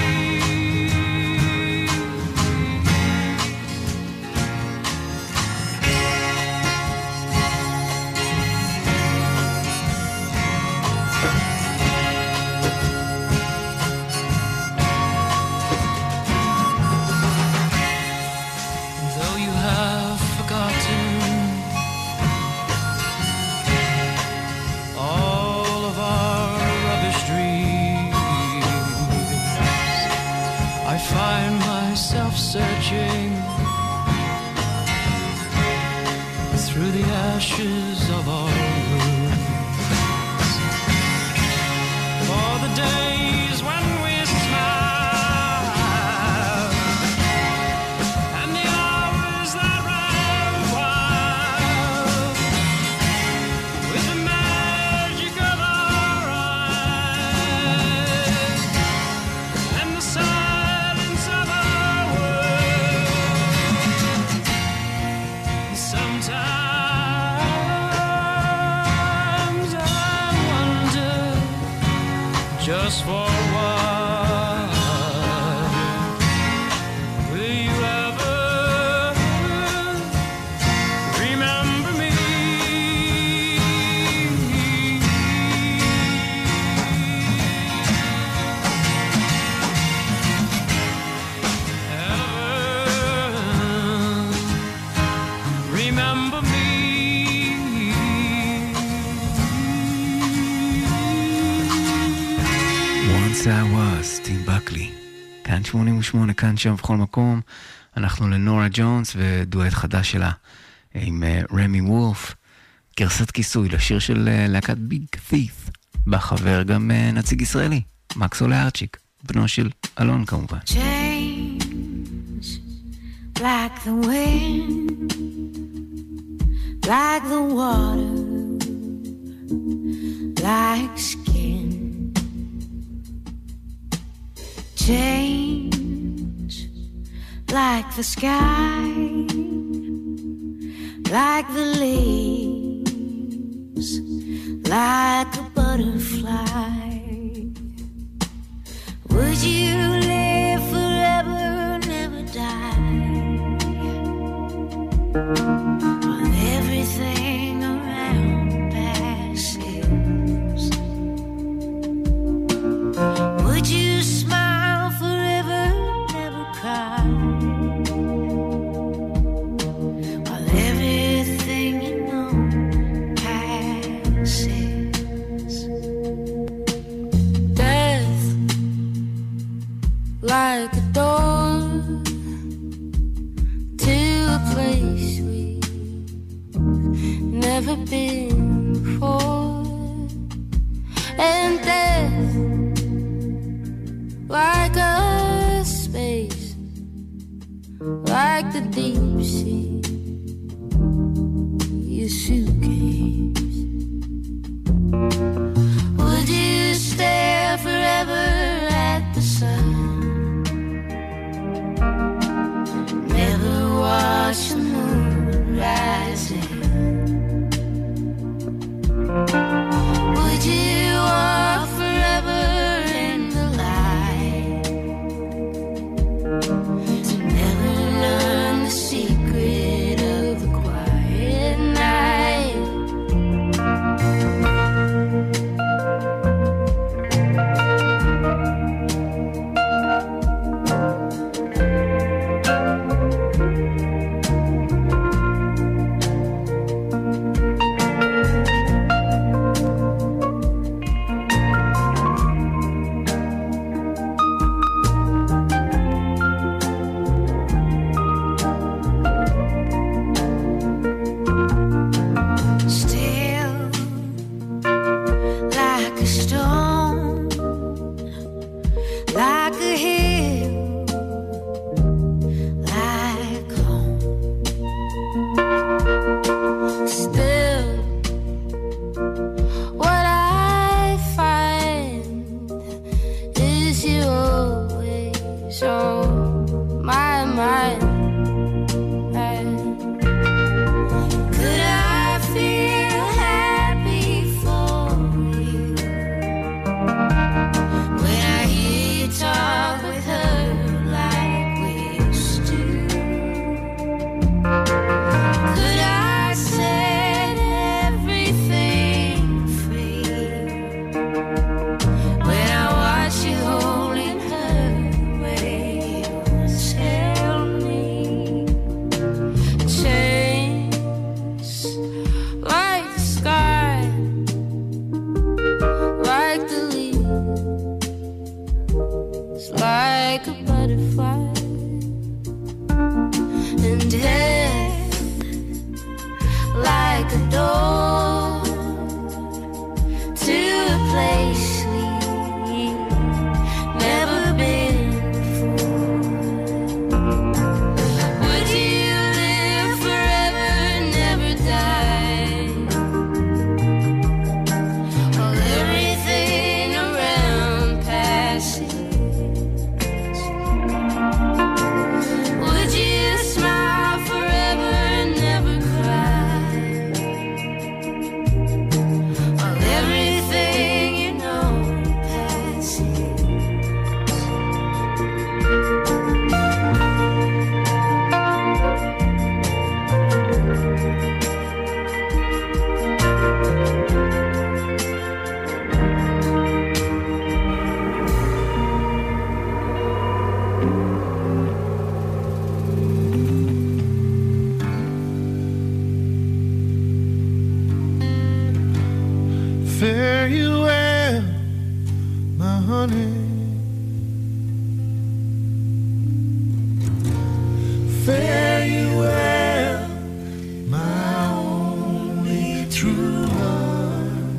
Though you have forgotten all of our rubbish dreams, I find myself searching through the ashes of our rooms for the days when we smiled and the hours that ran wild with the magic of our eyes and the silence of our world. Sometimes I wonder, just for a while, will you ever remember me? Ever remember me? Once I was, טים בקלי. כאן שמונים ושמונה, כאן שם בכל מקום. אנחנו לנורה ג'ונס ודואט חדש שלה עם רמי וולף. גרסת כיסוי לשיר של להקת ביג ת'יף. בחבר גם נציג ישראלי, מקסול ארצ'יק, בנו של אלון כמובן. Change like the wind, like the water, like skin. Change like the sky, like the leaves, like a butterfly. Would you live forever, never die? While everything around passes, would you smile forever, never cry? While everything you know passes. Death like a door to a place we've never been before, and death like a space, like the deep sea, your suitcase. Would you stare forever at the sun? Never watch the moon rising. Fare you well, my honey. Fare you well, my only true love.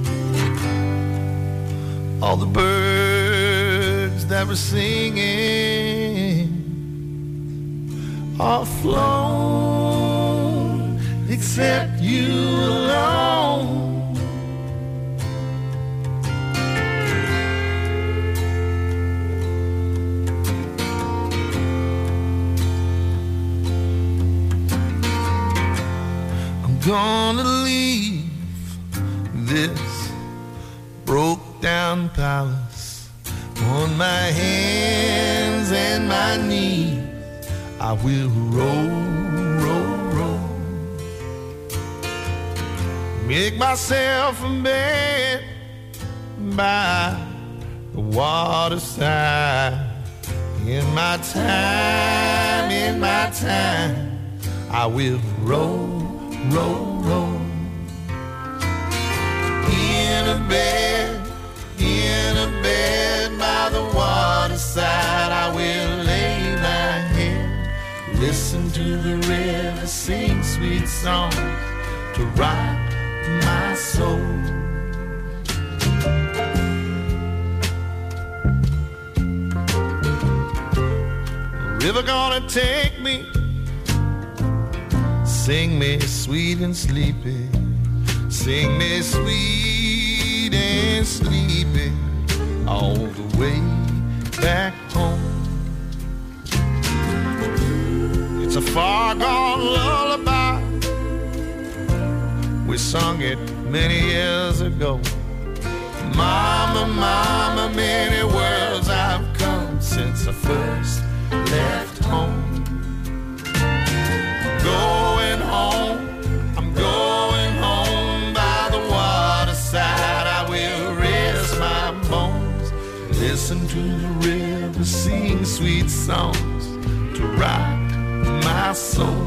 All the birds that were singing are flown, except you alone. Gonna leave this broke down palace on my hands and my knees. I will roll, roll, roll, make myself a bed by the waterside. In my time, in my time, I will roll, roll, roll, in a bed, in a bed by the waterside. I will lay my head, listen to the river sing sweet songs to rock my soul. The river gonna take me, sing me sweet and sleepy, sing me sweet and sleepy, all the way back home. It's a far gone lullaby, we sung it many years ago. Mama, mama, many worlds I've come since I first left home. Going home, I'm going home by the waterside. I will rest my bones, listen to the river sing sweet songs to rock my soul.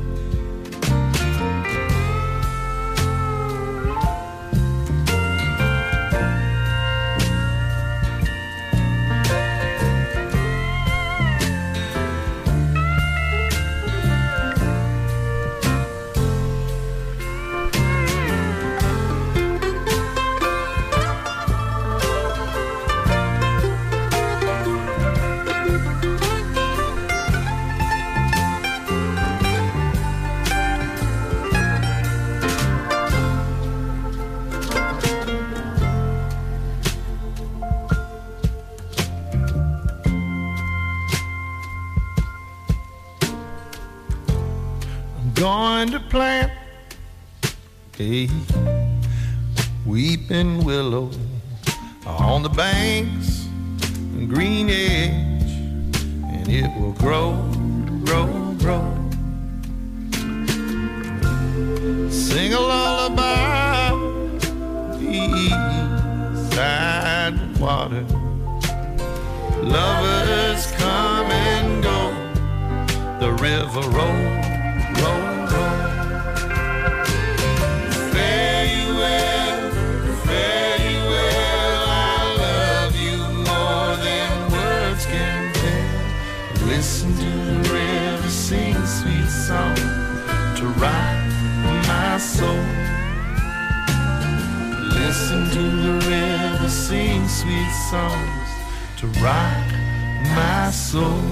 Going to plant a weeping willow on the banks and green edge, and it will grow, grow, grow. Sing a lullaby beside the water. Lovers come and go, the river rolls. Roll, roll. Fare you well, fare you well. I love you more than words can tell. Listen to the river sing sweet song to rock my soul. Listen to the river sing sweet songs to rock my soul.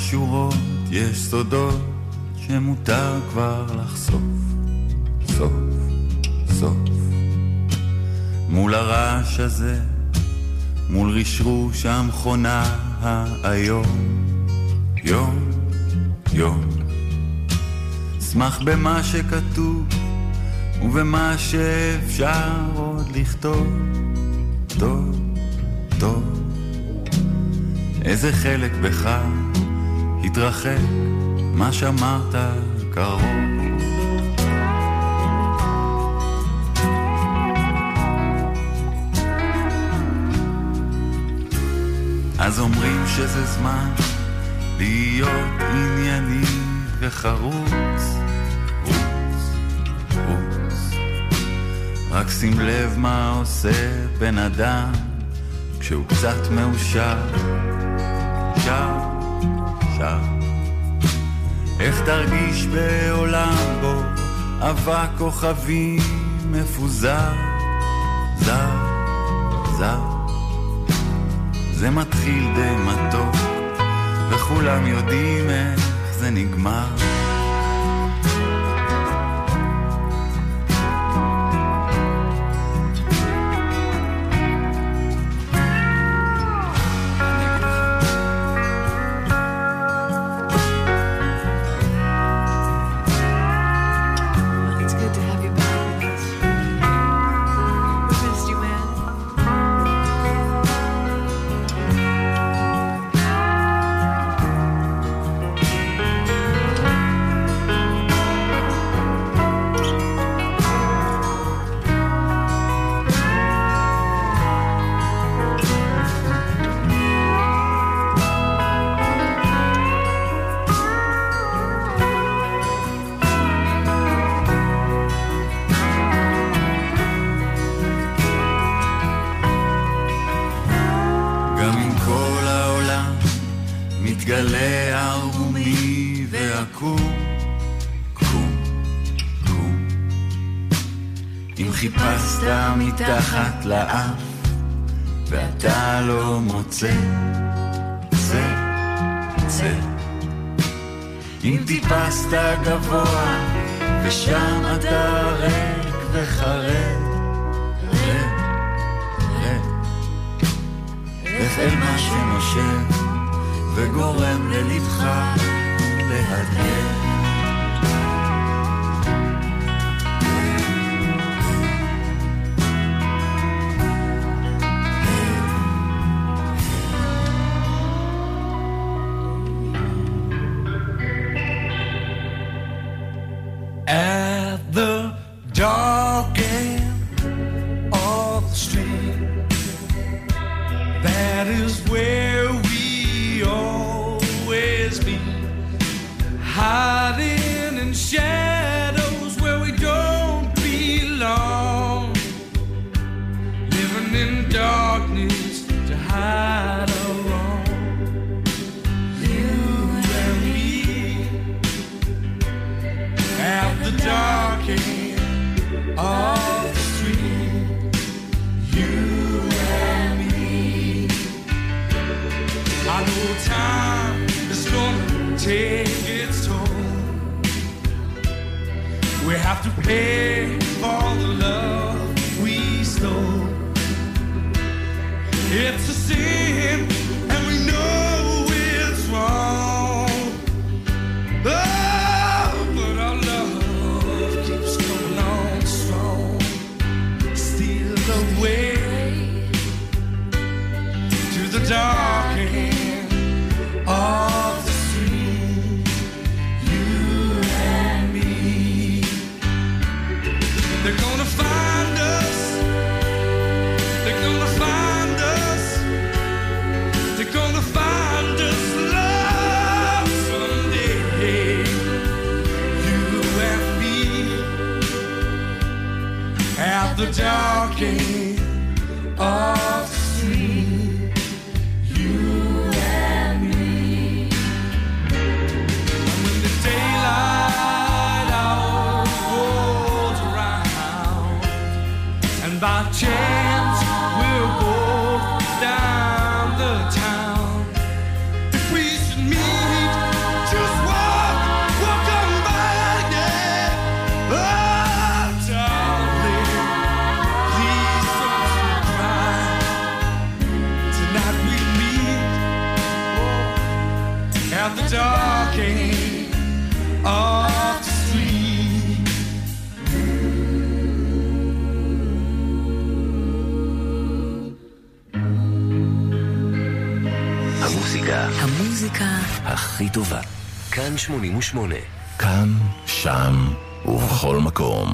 השורות יש סודות שמותר כבר לחשוף, סוף, סוף. מול הרעש הזה, מול רשרוש המכונה היום, יום, יום. שמח במה שכתוב ובמה שאפשר עוד לכתוב, טוב, טוב. איזה חלק בך התרחק, מה שאמרת קרוב. אז אומרים שזה זמן להיות ענייני וחרוץ, רוץ, רוץ. רק שים לב מה עושה בן אדם כשהוא קצת מאושר, שר, שר. איך תרגיש בעולם בו אבק כוכבים מפוזר, זר, זר. זה מתחיל די מתוק וכולם יודעים איך זה נגמר. מתגלה ערומי ועקום, קום, קום. אם חיפשת מתחת לאף ואתה לא מוצא, צא, צא. אם טיפסת גבוה ושם אתה ריק וחרד, רד, רד. לך אל מה שנושב וגורם ללבך להדהד. At the dark end of the street, that is where we always be, hiding in shadows where we don't belong, living in darkness to hide our wrong. You and me at the dark end of the street, you and me. I know time is gonna take its toll. We have to pay for the love we stole. It's a sin and we know it's wrong. Oh, but our love keeps coming on strong. Steal the way to the dark end of the street, you and me. They're gonna find us. They're gonna find us. They're gonna find us, love, someday. You and me at the dark end of the street, you and me. And when the daylight hour rolls around, and by chance we'll walk down the town, if we should meet כרגע. המוזיקה הכי טובה. כאן שמונים ושמונה. כאן, שם ובכל מקום.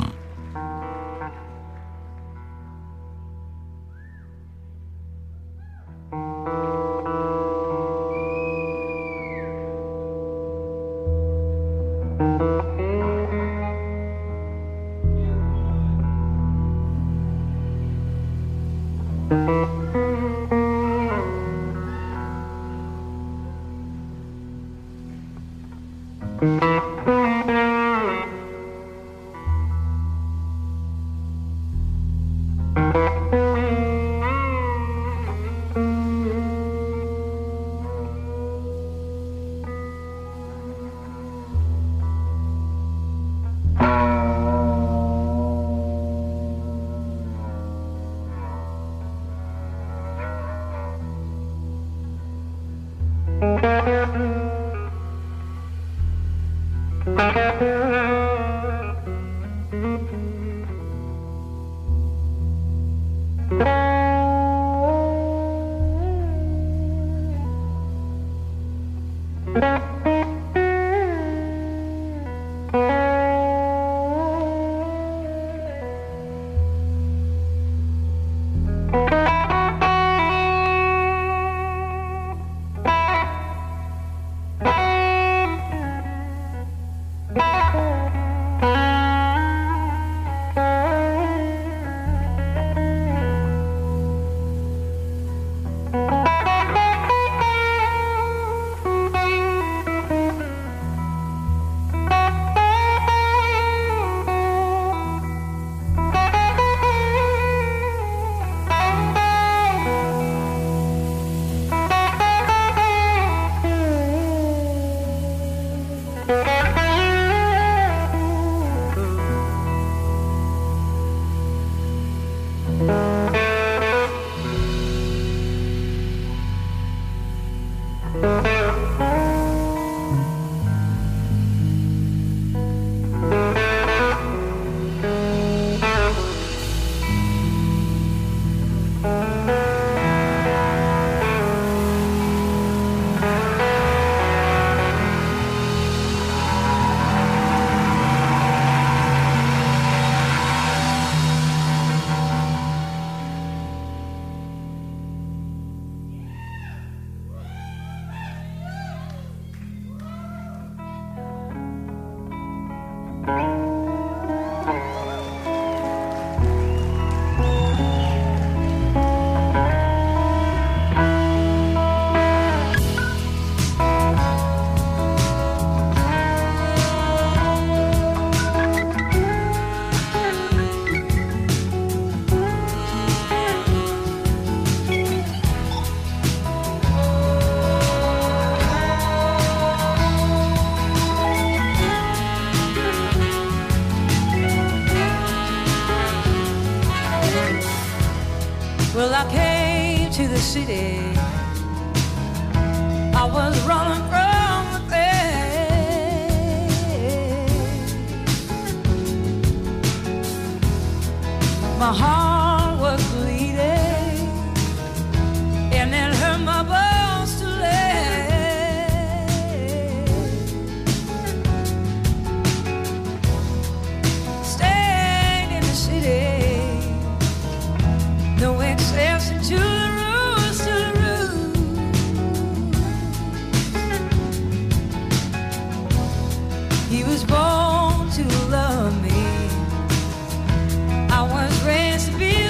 City. I was running from the pain. My heart was bleeding, and it hurt my bones to lay. Staying in the city, no exception to the born to love me. I was raised to be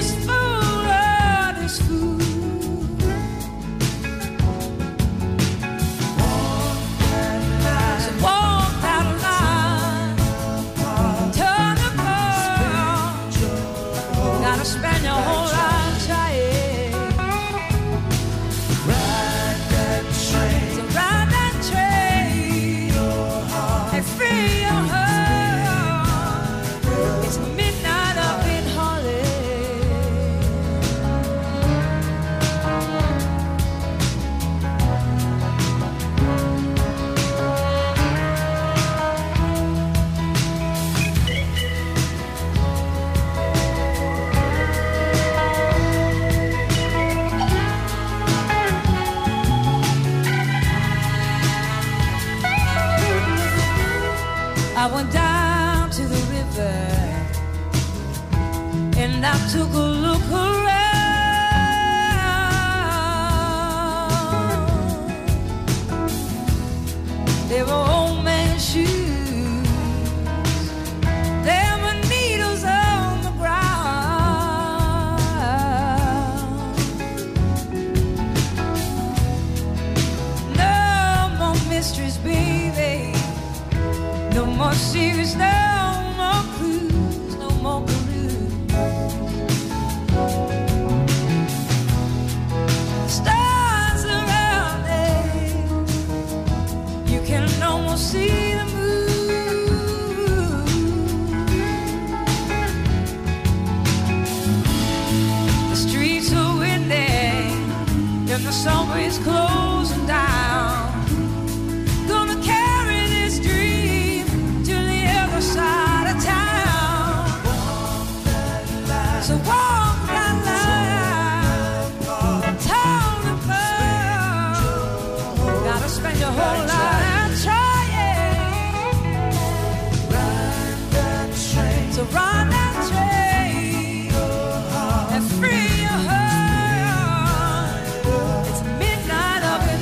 And I took a look around. They were old man's shoes. There were needles on the ground. No more mysteries, baby. No more secrets, no more clues, no more clues. Stars around it, you can almost see the moon. The streets are windy, and the summer is closing down. Gonna carry this dream to the other side of town. So walk that line, town to town. Gotta spend your whole life trying. Ride that train, so ride that train and free your heart. It's midnight up in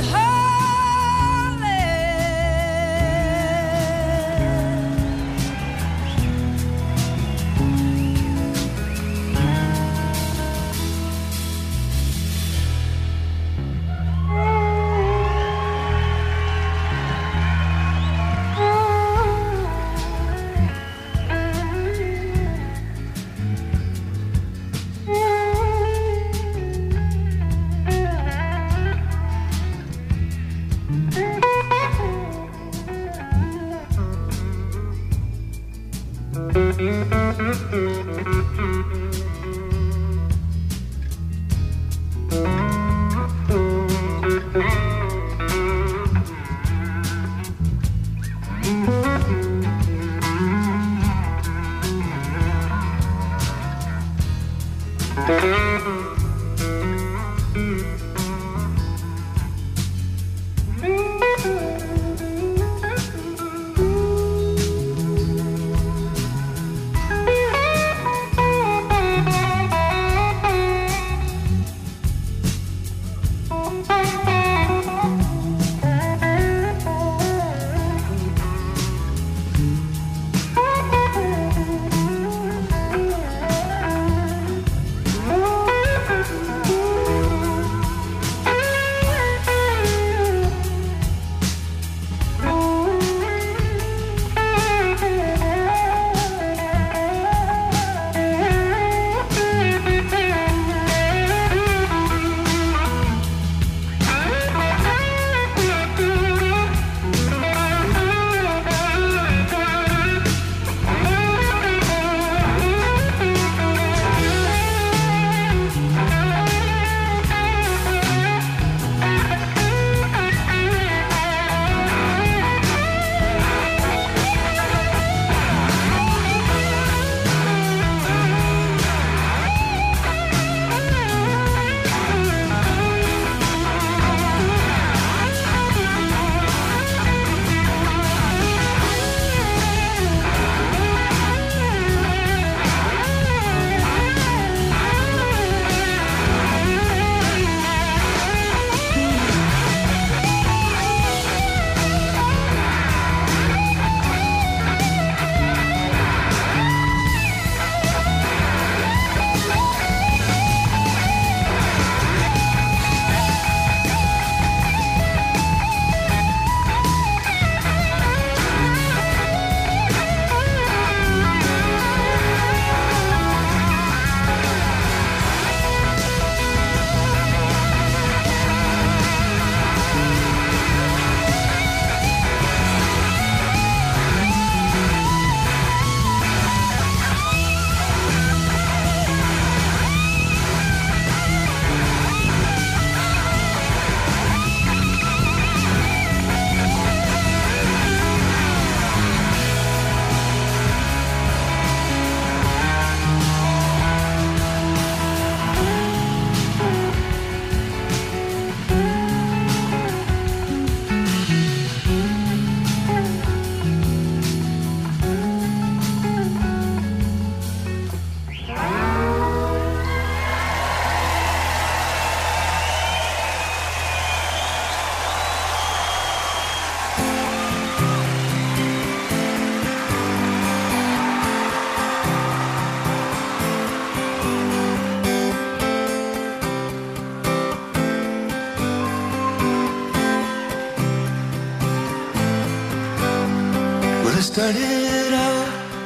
started out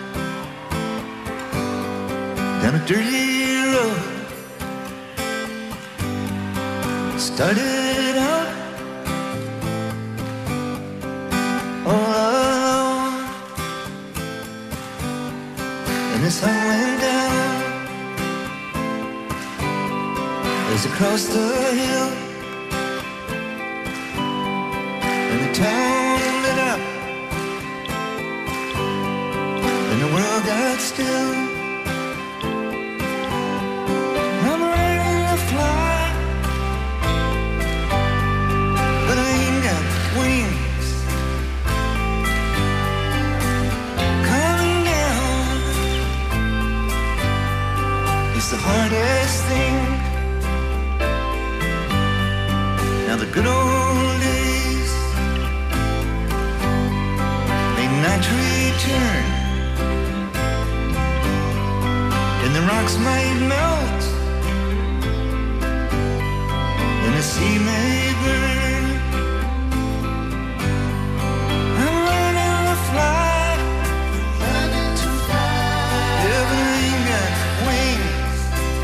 down a dirty road. Started out all alone, and the sun went down as across the hill, and the town lit up, and the world got still. I'm ready to fly, but I ain't got wings. Coming down is the hardest thing. Now the good old days may not return, and the rocks might melt, and the sea may burn. I'm learning to fly, learning to fly. Yeah, but I ain't got wings,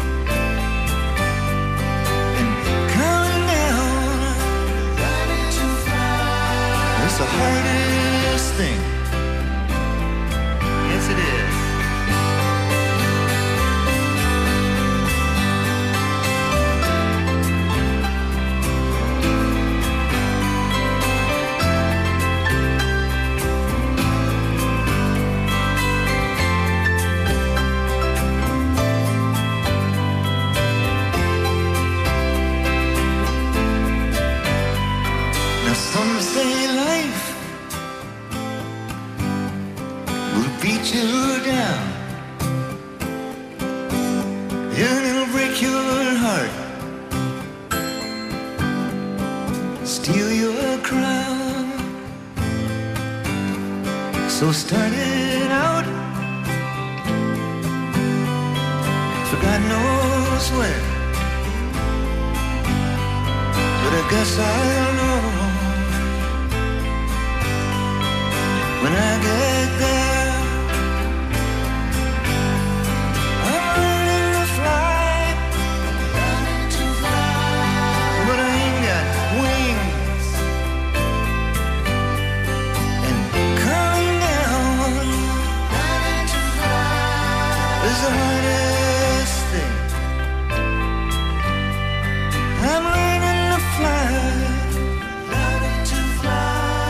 and coming down, learning to fly. It's the hardest thing. Yes, it is. Some say life will beat you down, and it'll break your heart, steal your crown. So start it out for God knows where, but I guess I'll know when I get there. I'm learning to fly, learning to fly, but I ain't got wings, and coming down, learning to fly is the hardest thing. I'm learning to fly, learning to fly.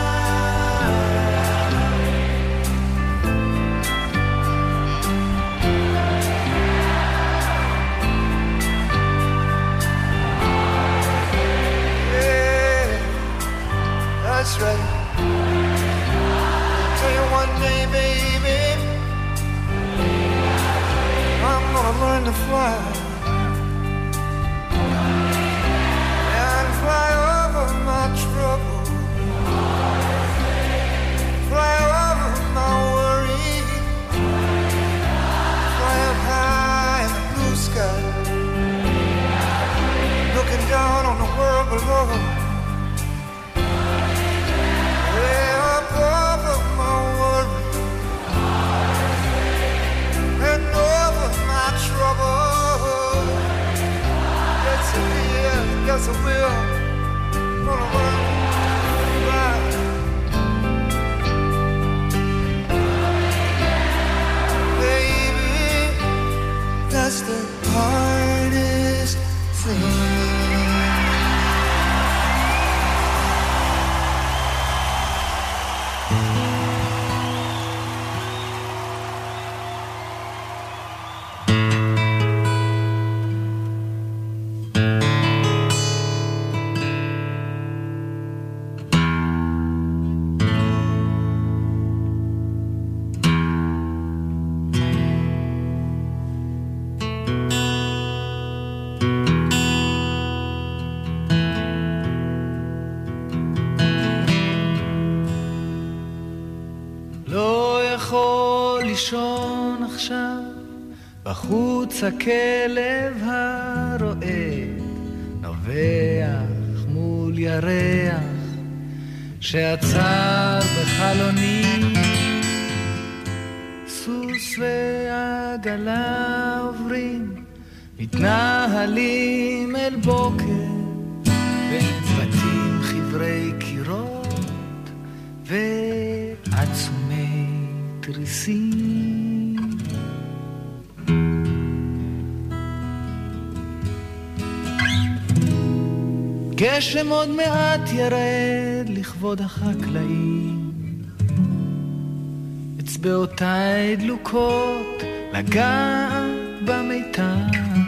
That's right. I'll tell you one day, baby, I'm gonna learn to fly, and fly over my trouble, fly over my worry, fly up high in the blue sky, looking down on the world below. Yes, I will. Gonna learn to fly. Baby, that's the hardest thing. לישון עכשיו, בחוץ הכלב הרועד נובח מול ירח שעצר בחלוני, והעגלה עוברים, מתנהלים אל בוקר, בין בתים חברי קירות ועצומי תריסים. גשם עוד מעט ירד לכבוד החקלאים, אצבעותיי דלוקות לגעת במיתר,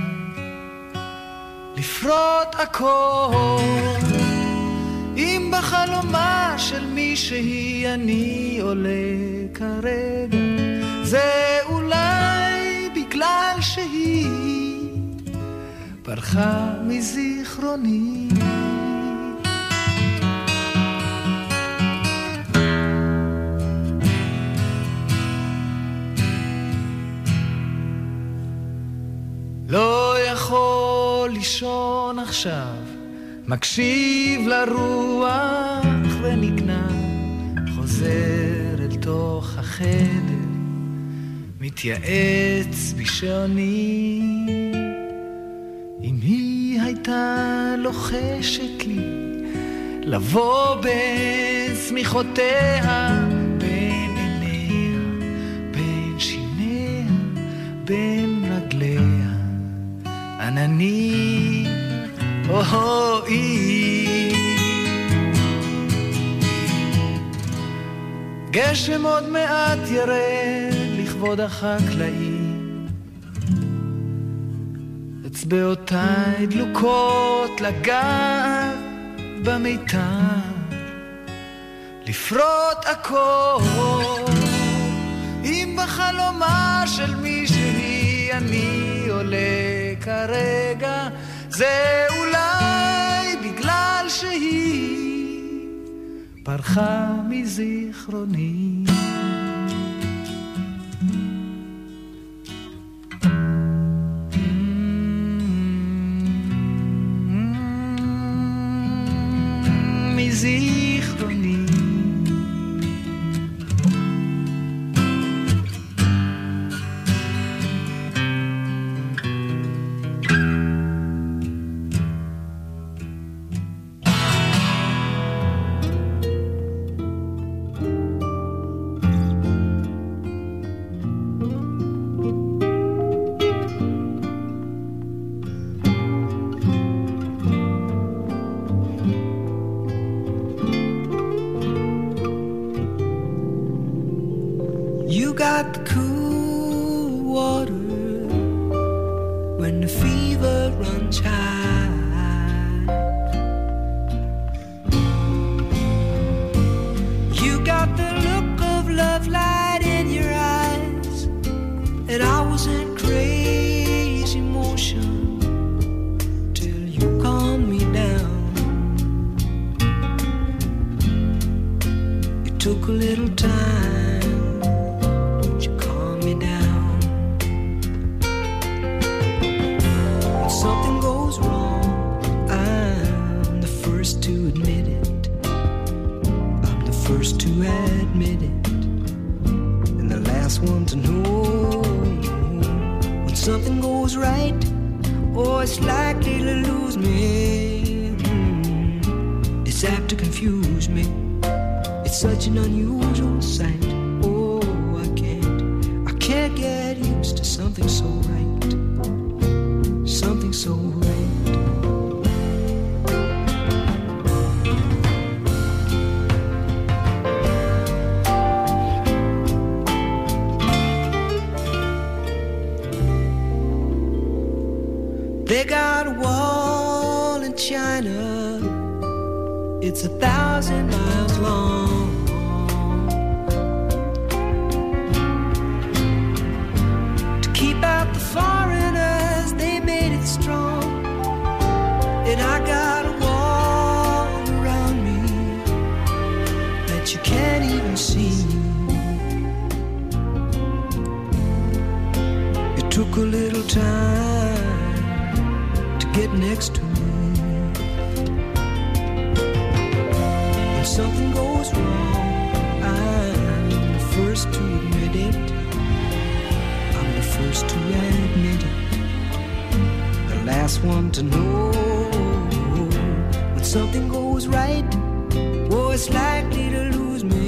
לפרוט הכל. אם בחלומה של מישהי אני עולה כרגע, זה אולי בגלל שהיא פרחה מזיכרוני. לא יכול לישון עכשיו, מקשיב לרוח ונגנע, חוזר אל תוך החדר, מתייעץ בשעוני. אם היא הייתה לוחשת לי לבוא בסמיכותיה, בין עיניה, בין שיניה, בין רגליה, ענני אוי. גשם עוד מעט ירד לכבוד החקלאים, אצבעותיי דלוקות לגעת במיתר, לפרוט הכל. אם בחלומה של מישהי אני עולה כרגע, זה אולי בגלל שהיא פרחה מזיכרוני. מזיכרוני. Got the cool water when the fever runs high. You got the look of love light in your eyes, and I was in crazy motion till you calmed me down. It took a little time. Something goes wrong, I'm the first to admit it. I'm the first to admit it, and the last one to know. When something goes right, oh, it's likely to lose me. It's apt to confuse me. It's such an unusual sight. Oh, I can't, I can't get used to something so right. Something so right. They got a wall in China, it's a thousand miles long. To keep out the foreigners, they made it strong. And I got a wall around me that you can't even see. It took a little time to get next to me. When something goes wrong, I'm the first to admit it. first to admit it, the last one to know. When something goes right, oh, it's likely to lose me.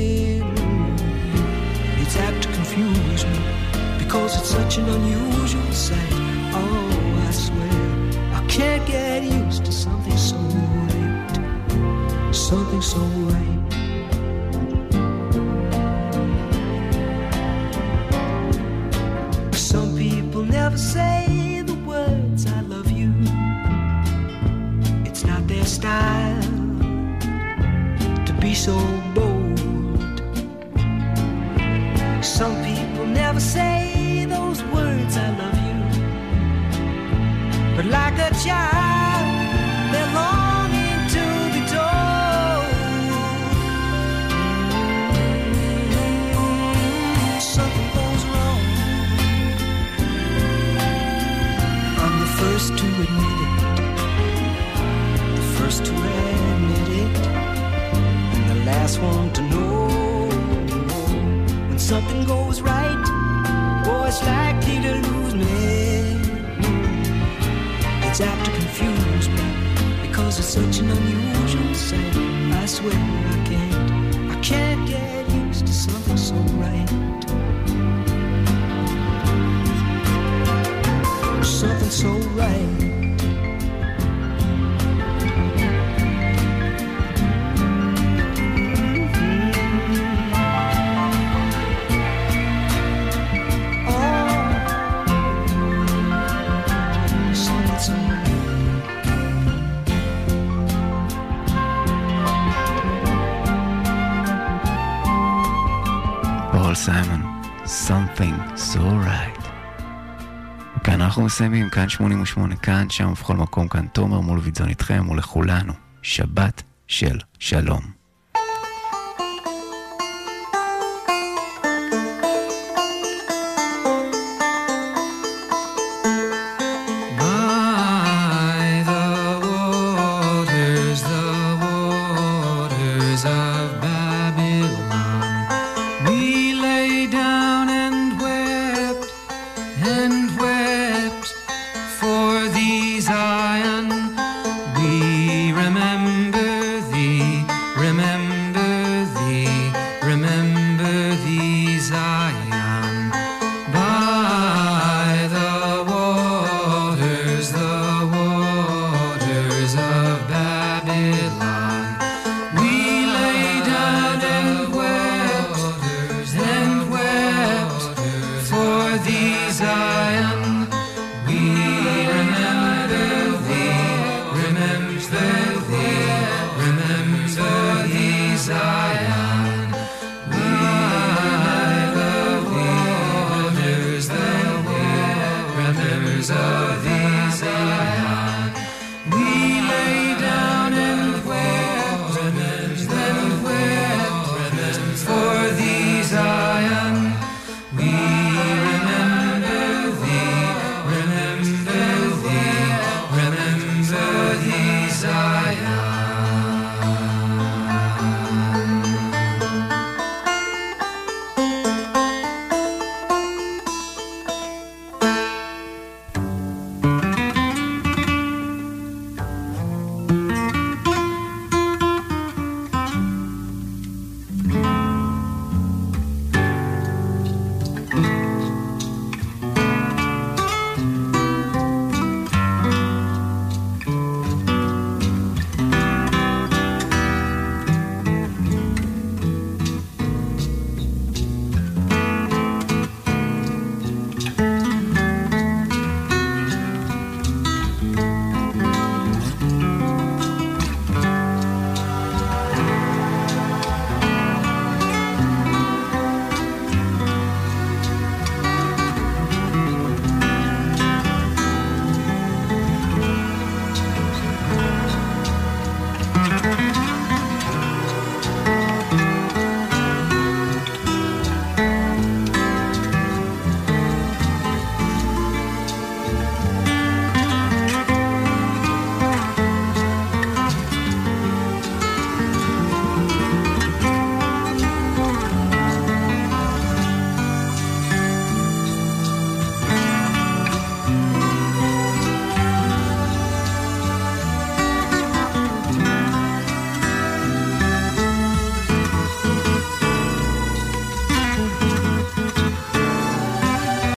It's apt to confuse me, because it's such an unusual sight. Oh, I swear, I can't get used to something so right, something so right. Some people never say the words I love you. It's not their style to be so bold. Some people never say those words I love you, but like a child they're longing to be told. Something goes wrong, I'm the first to admit it, the first to admit it, and the last one to know. When something goes right, oh, it's likely to lose me. It's apt to confuse me, because it's such an unusual sight. I swear I can't, I can't get used to something so right, something so right. פול סיימון, Something So Right. כאן אנחנו מסיימים, כאן שמונים ושמונה, כאן, שם ובכל מקום, כאן תומר מול וידזון איתכם ולכולנו. שבת של שלום. Of